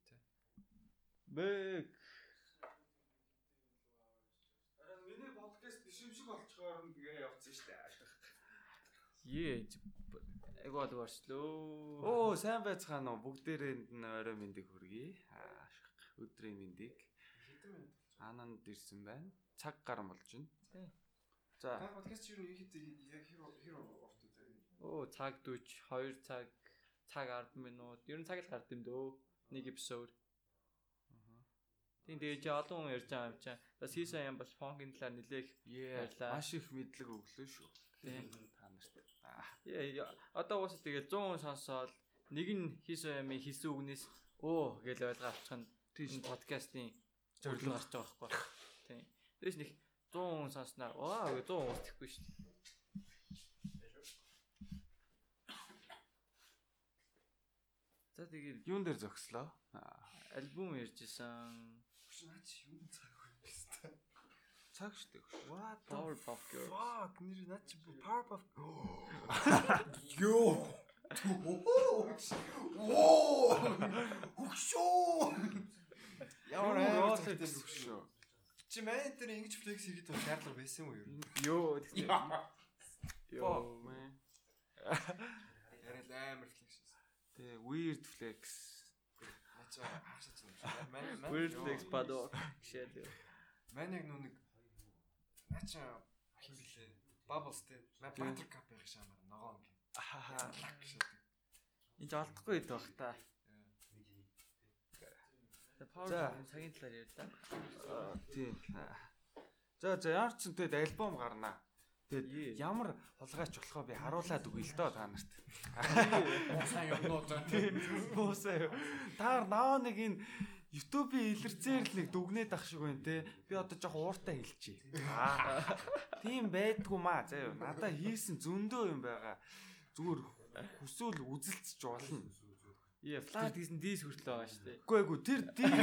Бэг. Харин миний подкаст биш юм шиг болчихоор тэгээ явцсан шүү дээ. Эго бол орчлоо. Оо, сайн байцгаана уу? Бүгдээрээ орой мэндийг хүргэе. Өдрийн мэндийг. Ананд ирсэн байна. Цаг гар болж байна. За. Та подкаст юу нэг яг хэр урт үү? Оо, цаг 40, 2 цаг 10 минут. Ер нь цаг л гард юм дөө. Нэг эпизод. Тийм дэж олон хүн ярьж байгаа юм чинь. Бас хийсэн юм бас фонкийн талаар нэлээх баярлаа. Маш их мэдлэг өглөө шүү. Тийм. Та нарт. Одоо уусаа тэгээд 100 хүн сонсоод нэг нь хийсэн юм хийсэн үгнээс гэж ойлгоо авчих нь энэ подкастын зөвлөл гарч байгаа байхгүй. Тийм. Тэрс нэг 100 хүн сонсноор 100 хүн устдахгүй шүү дээ. За тэгээд юун дээр зогслоо? альбом ярьжсэн. Наач юу цаг вэ? Цаг штэ. What Powerpuff Girls. Fuck, нэр наач Powerpuff. Йоо. Хөгшөө. Яа хөгшөө. Чи мэн дээр ингэж флекс хийгээд байх шаардлага байсан уу юу? Йоо man. Ярил амар флекс. Тэ weird flex. Наач хаашаач юм. Weird flex падо. Шээд. Мэн яг нүг наач хин блээ. Bubbles тэ. Мэн Buttercup байх шаамаар ногоо ингэ. Лак шээ. Энд олдохгүй хэд баг та. За цагийн талаар ярьлаа. Тийм. За ямар ч зүйл альбом гарнаа. Тэгээд ямар хулгайч болохоо би харуулад өгье л доо та нарт. Сайн юмнууд Боосаа. Та наваа нэг энэ YouTube-ийн илэрцээр л нэг дүгнээд ах шиг байна те. Би одоо жоох ууртай хэлчихье. Тийм байдгүй маа заяа. Надаа хийсэн зөндөө юм байгаа. Зүгээр хүсвэл үзэлцэж болно. Flat гэсэн дис хүртэл байгаа шүү дээ. Үгүй тэр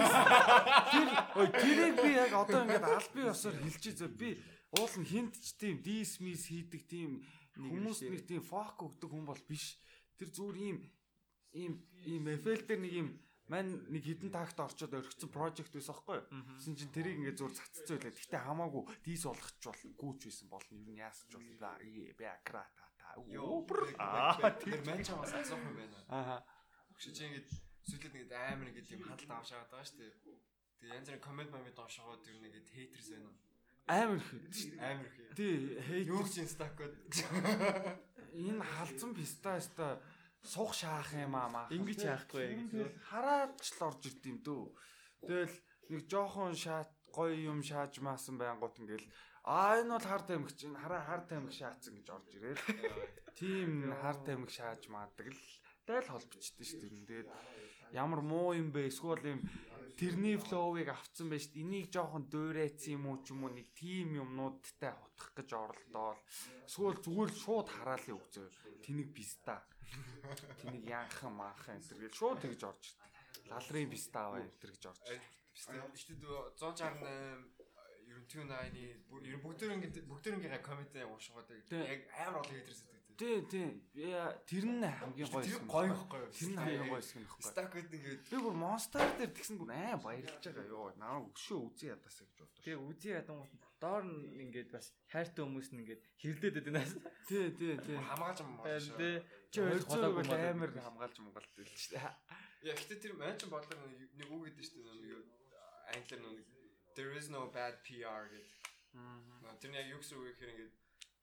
тэрийг би яг одоо ингээд албан ёсоор хэлчихье зөө. Би уул нь хинт ч тийм дис мис хийдэг тийм хүмүүс нэг тийм фок өгдөг хүн бол биш. Тэр зүгээр ийм эффект дээр нэг юм мань нэг хідэн тагт орчод өргөцсөн project байсан байхгүй юу? Тэсэн чинь тэрийг ингээд зүгээр цацсан байлаа. Гэтэ хамаагүй дис болгоч гүүч байсан болно. Юу яасч боллоо. Би акрата та. Тэр мань чамаас асуух юм байна. Чи ингэж сүлээд нэг амар нэг юм хадалт авшаад байгаа шүү дээ. Тэгээ янз бүрийн комент доошогоо тэр нэг хейтерс байна. Амар их. Тий, юу ч инстакод. Энэ халдсан пистаста сух шаах юм аа. Ингэж яахгүй гэж хараад ч л орж ирд юм дөө. Тэгэл нэг жоохон гоё юм шааж маасан байнгут ингээл энэ бол хар тамхич энэ хар тамхи шаацсан гэж орж ирээ. Тийм хар тамхи шааж маадаг л дайл холбочтой шүү дээ. Тэгээд ямар муу юм бэ? Эсвэл юм тэрний флоуыг авцсан байж энийг жоохон дуурайцсан юм уу ч юм уу нэг тим юмнуудтай хутгах гэж оролдоол. Эсвэл зүгээр шууд хараалын өгзөө. Тэнийг писта. Тэнийг янхан маахан энэ гэж шууд тэгж орж ирдэг. Лалрын писта аваа энэ гэж орж ирдэг. Писта. Ихтэй 168 ер нь Tune9-ийн ер нь бүгдээрээ коммент уушгаад яг амар олон хейтерс гэдэг. Тийм. Тэр нь хамгийн гоё юм. Гоё ихгүй. Тэр нь хамгийн гоё юм ихгүй. Stack-д ингээд би бүр Monster дээр тэгсэн бүр баярлж байгаа ёо. Наа өшөө үзье ядасаа гэж боддог. Тэгээ үзье ядангууд доор нь ингээд бас хайртай хүмүүс нь ингээд хэрлээд байднаас. Тий. хамгаалж юм байна шүү. Чи ойлцоог амар хамгаалж мунгалт байл шүү дээ. Яа гэхдээ тэр манчин бодлоо нэг үг гэдэг шүү дээ. Англиар нэг there is no bad PR гэдэг. Тэр нь яг юу гэсэн үг гэхээр ингээд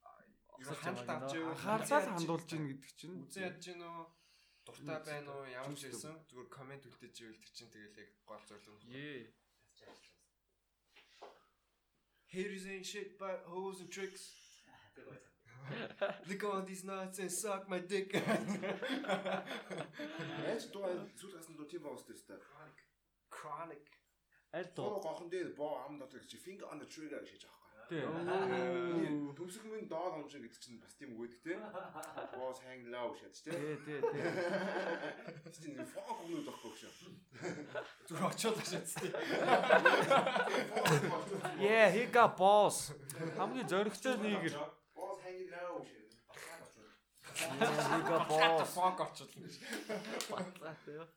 хандаад хандуулж ийн гэдэг чинь үзэн ядж гин үү дуртай байна уу ямар ч байсан зүгээр комент үлдээж ивэл тэр чинь тэгэл яг гол зорилго нь. Haters ain't shit but hoes and tricks. Look at all these nuts and suck my dick. Яаж дуу зүлгасан дуу тийм боос тест. Chronic. Аль дуу гохон дээр боо ам дотор чи finger on the trigger гэж аахгүй. Төсөг минь доод онж гэдэг чинь бас тийм үг гэдэг те. Boss hang low шат те. Тий. Тийм фок өмнөд байхгүй шүү. Зүр очоод шатстай. Yeah, he got boss. Хамгийн зоригтой нэгэр. Boss hang low шат. He got boss. Фок очоод л гэж. батлаатай юу.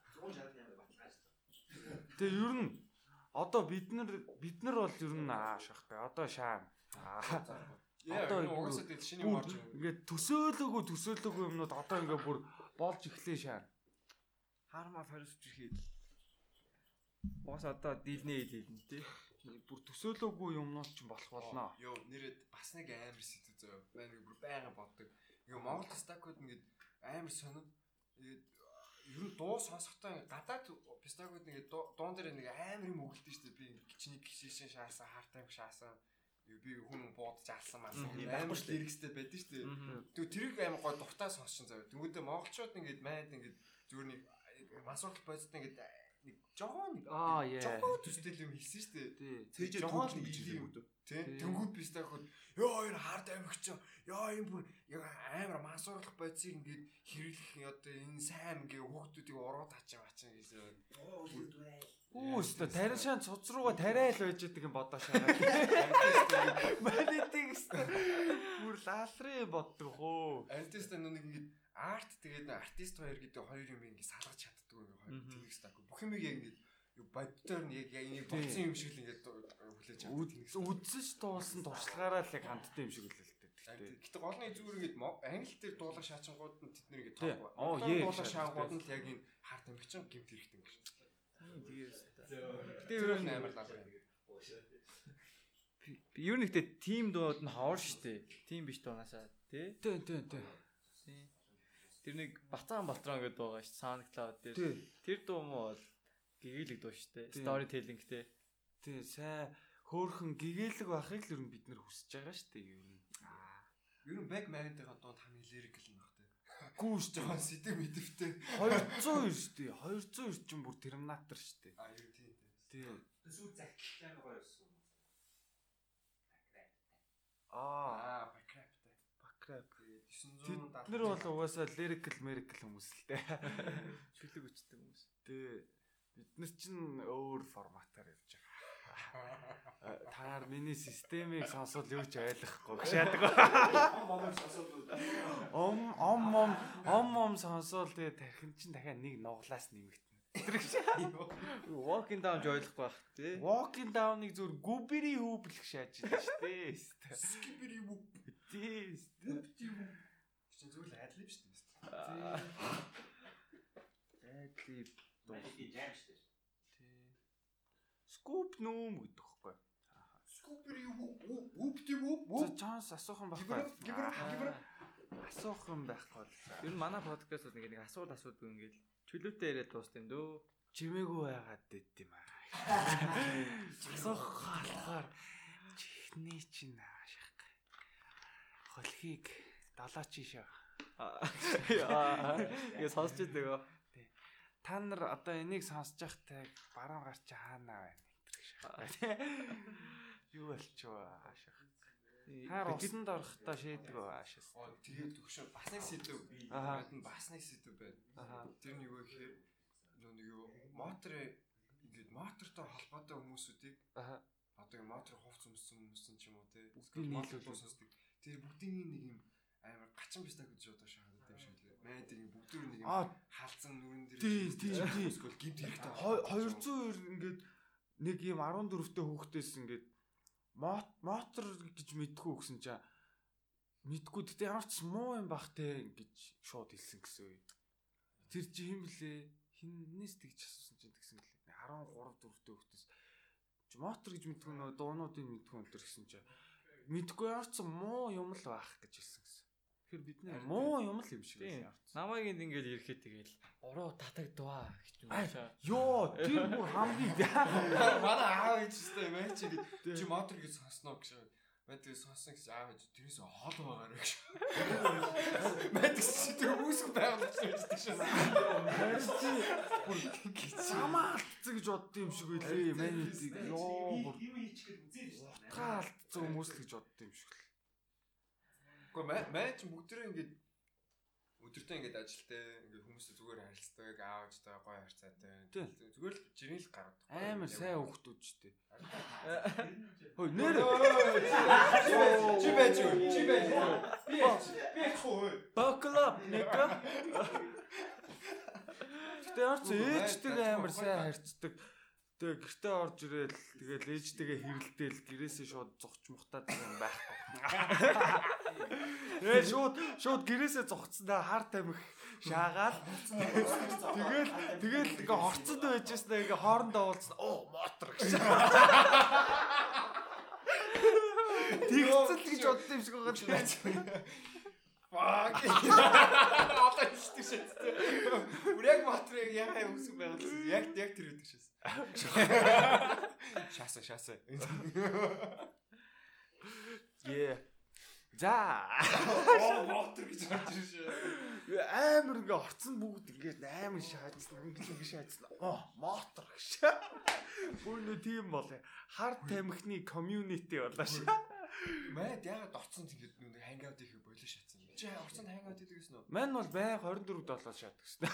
Тэгээ ер нь одоо бид нар бол ер нь шахтай. Одоо шаан. Одоо угаасаа тэгэл шиний юм орж байна. Ингээд төсөөлөөгүй юмнууд одоо ингээд бүр болж эхлэе шаан. Харма фарис чихээд. Угаас одоо дийлнэ тий. Бүр төсөөлөөгүй юмнууд ч болох болно. Йоо нэрэд бас нэг амар сэдв зөө. Байна бүр байнга боддог. Ингээ Монгол стакууд ингээд амар сонир. Тэгээд ер нь дуу сонсохдоо гадаад пистагууд нэг дуун дээр нэг амар юм өгөлдөө шүү дээ. Би чиний гişшин шаасан, хартайм шаасан. Би хүн буудаж алсан масан. Амар лирикстэй байдэн шүү дээ. Тэгвэл тэрийг амар гой дуртай сонсчин зав. Тэнгүүдээ монголчууд ингээд майнд ингээд зүгээр нэг масуулт бодсон ингээд нэг жоохон төстэй юм хэлсэн шүү дээ. Тэжээ түүх гэж хэлсэн үү? Тий. Тэнгүүд пистагууд ёо энэ хард амигч. Ёо энэ бүр амар масуурлах бодисыг ингээд хэрэглэх одоо энэ сайн ингээ хүүхдүүдийг уруу таачих ачаа гэсэн. Үүстэ тарин шаан цуц руугаа тариал байж байгаа юм бодоо шагаад. Малитиг өстө. Бүр лаалрын боддог хөө. Альтист нэг ингээд арт тэгээд артист хоёр гэдэг хоёр юм ингээ салгаж чаддаг юм хоёр тэнэгс таг. Бүх юм яг ингээ боддоор нь яг энийг бодсон юм шиг л ингээ хүлээж чаддаг. Үдсэж дуулсан туршлагаараа л яг хандтай юм шиг үлээ л дээ. Гэтэ гол нь зүгээр ингээд англи дээр дуулах шаачингууд нь тэд нэр ингээ тоохгүй. Дуулах шаангууд нь л яг энэ харт амигчин гэмт хэрэгтэй юм шиг. Гэтэ ер нь амар лав. Ер нь ихтэй тим дууд нь хоор штэ. Тим биш дуунаасаа тий. Тэр нэг Бацаан Балтрон гэдэг байгаа ш SoundCloud дээр. Тэр дуу мó бол гэгээлэг дуу штэ. Story telling-тэй. Тий, сайн хөөхөн гэгээлэг байхыг л ер нь бид нэр хүсэж байгаа штэ ер нь. Ер нь Back Man-ийн дууд хамгийн lyrical юм багтай. Гүүш жоохон сэдэв мэдэвтэй. 200 штэ. 200 ч юм бүр Terminator штэ. Юу тий. Тий. Сүү захтай гоё байсан. Backrap. Бид нар бол угаасаа lyrical miracle хүмүүс л дээ. Шүлэг өчтөг хүмүүс. Тий. Бид нар чинь өөр форматаар явж байгаа. Таар миний системийг сонсвол юу ч ойлгохгүй гшаадаг. Ом сонсвол тэгээ тархин чинь дахиад нэг нуглаас нэмэгдэнэ. Walking down ч ойлгохгүй байх тий. Walking down-ыг зөв гүбэри хүүблэх шааж байна шүү дээ. Skibidi whoop. Тий. Чи зүйл адлиб шүү дээ. Адлиб дуу жам шүү дээ. Scoop нүүм гэдэг хэвгүй. Skibidi whoop. Чанс асуух юм байхгүй. Асуух юм байхгүй. Ер нь манай подкаст бол нэг асуулт ингээл чөлөөтэй яриад дуусна юм дөө. Чимээгүй байгаад дээд юм аа. Асуух болохоор чихний чинь ааших. Холхийг далаач шээ. Яа сонсч байгаа. Та нар одоо энийг сонсож байхтай баруун гарч хаана байна юу болчихоо ааших. Хаар усанд орохдоо шийдэг аашис. Тэгээд төгшөө бас нэг сэдв. Бас нэг сэдв байна. Тэр нь юу гэхээр нэг юу мотор ингээд мотортой холбоотой хүмүүсүүдийг одоо мотор хувц өмсөн ч юм уу те. Мотор сонсдог. Тэр бүгдийн нэг юм амар гачин бистаг гэж одоо шахаад юм шиг лээ. Мэдээ бүгдөө нэг юм хаалцсан нүрэн дээр эсвэл гимт хэрэгтэй. 200 ингээд нэг юм 14-тэй хүүхдээс ингээд мотор гэж мэдгүй гэсэн чинь мэдгүй гэхдээ ямар ч муу юм бах те гэж шууд хэлсэн гэсэн үе. Тэр чи хэм блэ? Хиннээс тэгж асуусан чинь тэгсэн гэлээ. 13 4-тэй хүүхдээс чи мотор гэж мэдгүй нөө дуунуудыг мэдгүй өнтер гэсэн чинь мэдгүй ямар ч муу юм л байх гэж хэлсэн гэсэн. Тэгэхээр бид нэ муу юм л юм шиг байна. Намайг ингээд ирэхэд тэгэл уруу татагдваа гэж юм шаа. Йоо, тэр бүр хамгийн манай аав ээжтэй мэн чи мотор гэж сонсноо гэж. Мэдээ сонсон гэж аав ээж тэрээс хол байгаа гэж. Мэдээ чи тэр үүсэх байгаад шүү дээ. Самаалцсан гэж бодд юм шиг үлээ. Мэдээ ёо. Юу хийчих гээд үзээ шүү дээ. Таалцсан хүмүүс л гэж бодд юм шиг л. Гэхдээ мэн чи бүгдээ ингээд өдөртөө ингээд ажилтаа ингээд хүмүүстэй зүгээр харилцдаг, аавчтай гоё харьцаатай. Зүгээр л жирийн л гараад. Амар сайн хүүхдүүд ч дээ. Хөөе нэр. Чи байж юу? Би хөө. Баклап нэгэ. Гэтэ орц ээжтэйгээ амар сайн харьцдаг. Тэгээ гэртээ орж ирээл тэгэл ээжтэйгээ хэрэлдээл гэрээсээ шууд зогч мухтаад юм байхгүй. Тэгээ шууд гэрээсээ зогцсондоо хар тамхи шаагаал. Тэгэл ингээ хорцод байжсна ингээ хоорондоо уулзсан. Оо мотор гэж. Тэгцэл гэж бодсон юм шиг байгаа. Fuck. Одоо хэлдэг шээ. Үрэг моторыг яхаа үсэг байгаад яг тэр үүдэг шээс. Шааса. Yeah. За. Мотор гэж харж ирсэн. Амар ингээ орцсон бүгд ингээ амар шаажсан. Ингээ шаажсан. Мотор гэж. Бүр нэ тийм бол хар тамхины community болоо ш. Мэд ягаад орцсон тэгээд нэг хангаут их болоо шатсан. Чи орцсон хангаут гэдэг гэсэн үү? Мань бол байг 24-7 шаадаг гэсэн.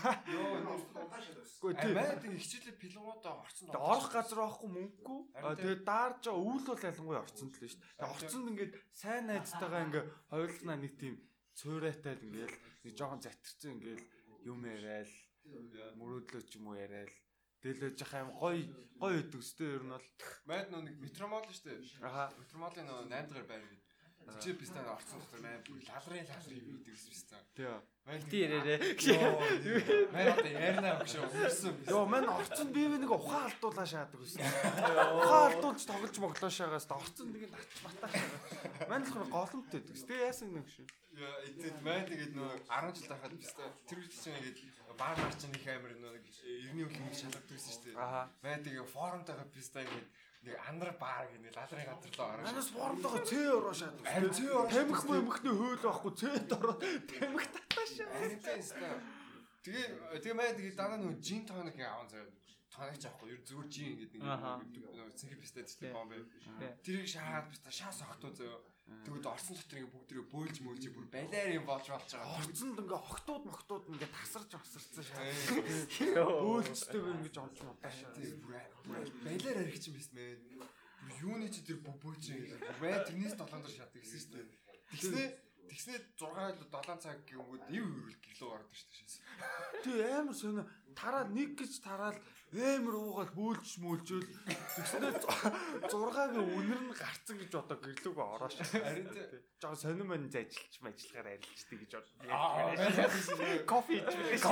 Йоо мэд хичээлээ пилгуудаа орцсон. Орох газар байхгүй мөнгөгүй. Тэгээд даарж байгаа үйл бол ялангуяа орцсон л шүү дээ. Тэгээд орцонд ингээд сайн найзтайгаа ингээ хойлохнаа нэг тийм цуурайтай л ингээл нэг жоохон затирсан ингээл юм яриад мөрөөдлөө ч юм уу яриад дэлж явах юм гоё өгдөг өстэй ер нь бол мэд нэг метромол шүү дээ. Аха. Метромолын 8 дахь байр. Чи бистаа орцсон дотор мэн лалрын хийдэг бистаа. Тий. Тий ярээрээ. Мэн одоо ярина гэж өгсөн. Йоо мань орцсон би нэг ухаан алдуулаа шаадаг гэсэн. Ухаан алдуулж тоглож моглоо шаагаас орцсон нэг нач батаа. Мань л голомтой гэдэг. Тэгээ яасан нэг шүү. Яа эцэд мэн тэгээд нөө 10 жил тахад бистаа тэр үед чинь ингээд баар марчин их амир нөө иргэний үлэмж шалгадаг гэсэн шүү дээ. Мэн тэгээд форумтайгаа бистаа ингээд нэг андар баар гэнэ лалрын газар руу ороо. Манайс форумтойгоо цээ ороо шаадаг. Тамхи мөхний хөөл байхгүй цээд ороо тамхи татаа шаа. Тэгээ мэн тэгээд даа нөө жин тоног аавн заяа. Тоногч авахгүй ер зүгээр жин гэдэг нэг цэнхэр бистаа тийм бомб. Тэрийг шаад бистаа шаас огтоо заяа. Тэгвэл орсон дотор ингээ бүгдрээ бөөлж мөөлж бүр балиар юм болж байгаа. Орцонд ингээ охтууд ингээ тасарч осарцсан шаа. Бөөлжтэй ингэж олж удаа шаа. Балиар арих чинь биш мэн. Бүр юуны чи тэр бөбөөч юм. Бай тэрнээс 7 дор шат гэсэн шүү дээ. Тэгснээ 6-7 цаг гингүүд ив хөрөл гэлөө ордог шүү дээ. Тэг амар сонио тараад нэг гэж тараал амар уугаад бөөлж мөөлжөөл тэгснээ 6-гийн үнэр нь гарцсан гэж одоо гэрлүүгөө ороош. Харин тий. Жоо сонир мань ажиллаж ажиллахаар арилждаг гэж бод. Кофе идэж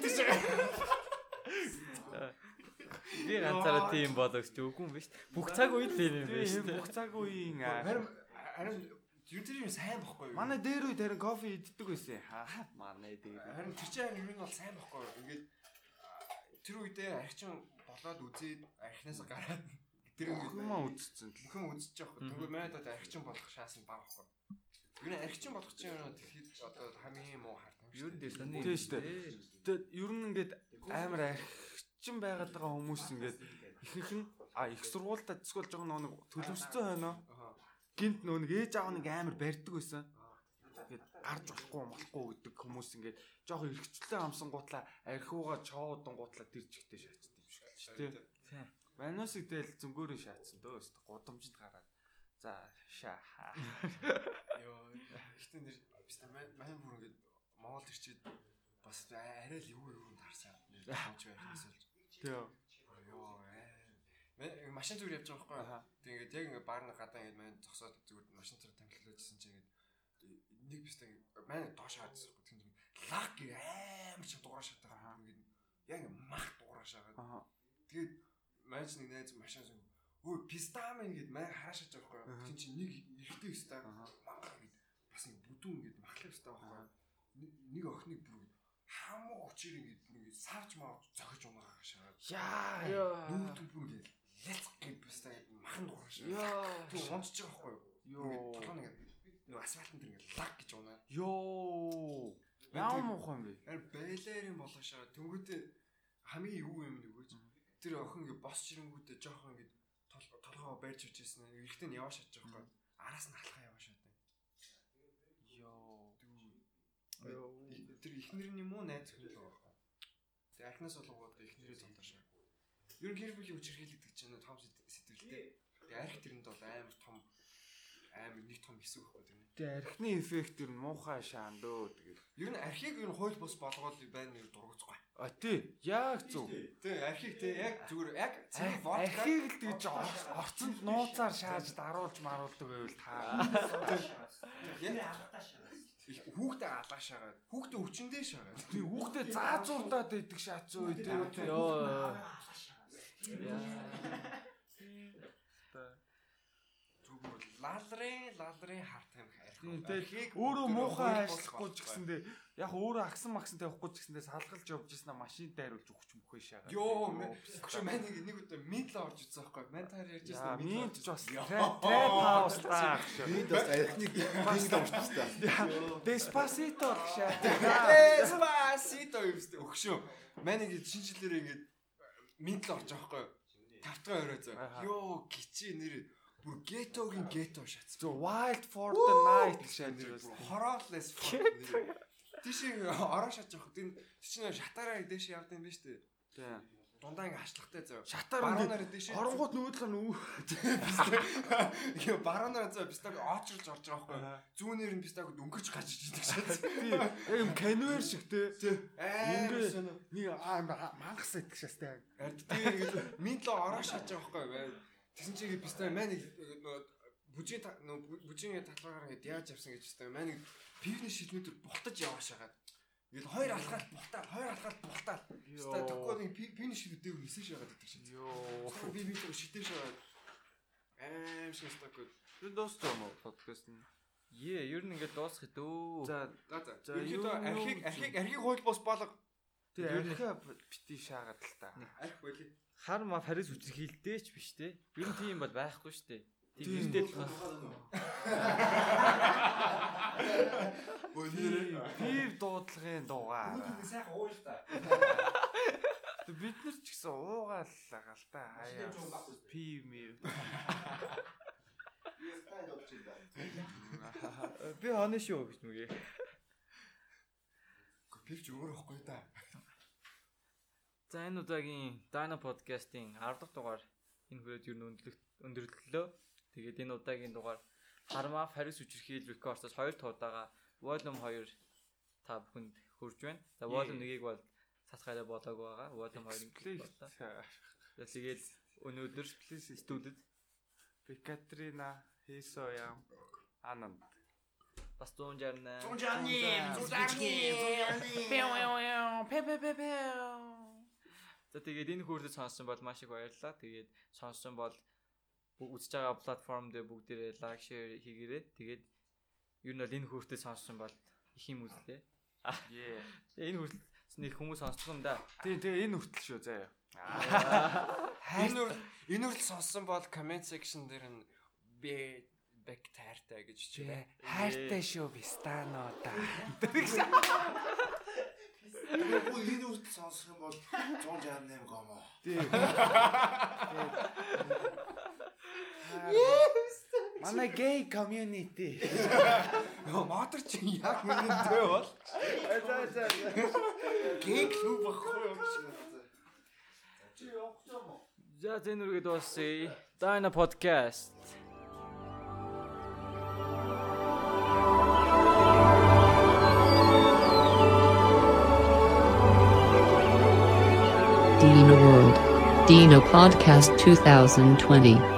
Би ганцаараа тийм боловч үгүй юм биш. Бүх цаг үед тийм юм биш. Бүх цаг үеийн харин юу тэр юм сайн бохгүй юу? манай дээр үе тэрэн кофе иддэг байсан. Манай дээр. Харин тэр чинь юм бол сайн бохгүй юу? Ингээд тэр үедээ архичин болоод үзээд архинаас гараад тэр хүмүүс үзсэн. Бүхэн үзэж байгаа хөөх. Тэгвэл манайд одоо архичин болох шанс нь бага бохгүй. Юу архичин болох чинь тэгэхэд одоо хамгийн муу хардаг. Юу дээр сони. Тийм шүү дээ. Тэгээд ер нь ингээд амар архичин байгаад байгаа хүмүүс ингээд ихэнх нь их сургуультай зэсгэл жоо нэг төлөвшсөн байна. Гинт нэг ээж аав нэг амар барьдаг байсан. Ингээд гарч болохгүй гэдэг хүмүүс ингээд жоохон эргчлээ амсан гутлаа архиугаа чоодон гутлаа тэр чигтээ шаачдаг юм шиг л шүү дээ. Манусыг дээл зөнгөөрөө шаацсан дөө өст гудамжинд гараад. За шаа. Йоо. Ихтэй нэр бистэ мань бүр ингээд Монгол ирчээд бас арай л юу харсан. Нэр тооч байхнаас л. Тий. Йоо. Машин зүгээр явж байгаа байхгүй. Тэг ингээд яг ингээд баарны гадаа ингээд мань зогсоод зүгээр машин зэрэг тамхилуулжсэн чинь ингээд нэг бистэ мань доош хаадсан байхгүй. Тэнд лаг амар ч дуурай шатаа байгаа. Ингээд яг мах дуурай шагаад. Тэгээд мань нэг найз машин зүг өө пистамын гээд мань хаашаач байгаа байхгүй. Тин чинь нэг ихтэй өстэй мангар гээд бас нэг бүдүүн гээд махлах өстэй байхгүй. Нэг охиныг бүр хамаа очир ингээд бүр ингээд савж маа зохиж унаа шагаад. Яа. Нүүтэн бүр ингээд лэц гээд пистаа махан дуурай шагаад. Яа. Тэг унцж байгаа байхгүй. Йоо. Толгой нэг асфальтын дээр ингээд лаг гэж унаа. Йоо. Яа муухан бэ? Байлаарийн болгошоо тэнгүүтээ хамгийн юу юм нэгөөч. Тэр охин ингээд босч ирэнгүүтээ жоохон ингээд толгоо байрч үжсэн. Эрэхтэн яваа шатж байгаа байхгүй. Араас нь халахаа яваа шат. Йоо. Тэр ихнэр нь юм уу найз хөл байгаа. Тэг архинаас болгоод ихнэрээ зонтоошаа. Ер нь гэр бүлийн хүчирхийлэгдэж чинь том сэтгэлтэй. Тэг арх тэрэнд бол амар нэг том хэсэг байхгүй тэр. Тэг архины эффект ер нь муухай шаан дөө тэгээд. Ер нь архийг ер нь хууль бус болгоод байна нэр дургуцгүй. А тий. Яг зөв. Тэг архийг тий яг зүгээр яг архийг л тэгж орцонд нууцаар шааж даруулж маруулдаг байвал та. Хүүхдээ алгаа шагаад. Хүүхдээ өвчнөдөө шагаад. Тий хүүхдээ заазуурдаад байдаг шаац өө тий. Йоо. Лалрын харт юм архийг өөрөө муухай ажиллахгүй ч гэсэндээ яг өөрөө агсан максан тавихгүй ч гэсэндээ салгалж явж ирсэн машин дайруулж өгч мөхөө шагаад. Йоо мань нэг удаа минтл орж ирсэн байхгүй. Мань таар ярьж ирсэн минт ч бас трэп хауслаа. Минт бас архиныг минт орчихсан. Деспасито шаа. Деспасито өгшөө. Мань ингэ шинжилээрээ ингэ минтл орж байгаа байхгүй. Тавтгаа өрөө зөө. Йоо гिची нэр бүр гетогийн гето шатсан. Зөв wild for the night шааж ирсэн. Horolless тийшээ ороо шатж явах. Тин чинь шатаараа дэше явд юм биш үү? Тийм. Дундаа ингэ хашлахтай зөө. Шатаар ингэ оронгууд нүүдэл нүү. Яа баруунаар зөө бистаг очролж орж байгаа байхгүй. Зүүнээр нь бистаг өнгөрч гарч иждэг шатсан. Тийм. Яг юм канвер шиг те. Ингээд нэг мангас идэх шастай. Тийм ингэ минтло ороо шатж байгаа байхгүй. Тэсэн чигээ бистай мань бүжийн талбараар ингээд яаж явсан гэж бистай мань пивний шилмэтэр бултаж яваа шагаад. Ингээд хоёр алхаад бултаад. Бистай төгөөний пивний шилмэтээр нисэж шагаад идэх шээ. Йоо. Би тэр шидэж шагаад. Шистаггүй. Тэр дууссан юм уу подкаст нь? Ер нь ингээд дуусах дөө. За. Архийг хууль бос болго. Тэр архиа бити шаагаад л та. Арх болий. Хар ма Харис үчирхийлдээ ч биш те. Ер нь тийм бол байхгүй шүү дээ. Тийм хэлдэл бас. Пив дуудлагын дуугаар. Сайхан ууж та. Бид нар ч гэсэн уугааллаа л та. Хаяа. Пив мив. Би хонь шүү гэж нүгэ. Пив ч өөр ихгүй та. За энэ удаагийн Dino podcast-ийн 10 дахь дугаар энэ хүрээд ер нь өндөрлөлөө. Тэгээд энэ удаагийн дугаар Хармаа Харис үчирхийл Records-аас 2 туудаага Volume 2 та бүхэнд хүрж байна. За Volume 1-ийг бол цацгаараа болоогүй байгаа. Volume 2-ыг боллоо. Тэгээд өнөөдөр студид Екатерина Хисоям Ананд бас 160 За тэгээд энэ хүртэл сонссон бол маш их баярлалаа. Тэгээд сонссон бол үзэж байгаа платформ дээр бүгдээрээ лайк, шеэр хийгээрэй. Тэгээд ер нь бол энэ хүртэл сонссон бол их юм үзлээ. Энэ хүртэл нэг хүмүүс сонсдог юм да. Тэгээ энэ хүртэл шүү заяа. Энэ хүртэл сонссон бол comment section дээр нь бэк таартай гэж чивэ. Хайртай шүү бистано та. Тэгвэл энэ үрт сонсох юм бол 168 гомоо. Тийм. Манай gay community. Мотор чи яг үнэндээ бол. За. Gay клуб ахгүй юу? Чи явах юм уу? За энэ үргээд дуусъя. Dino podcast. Dino World. Dino Podcast 2020.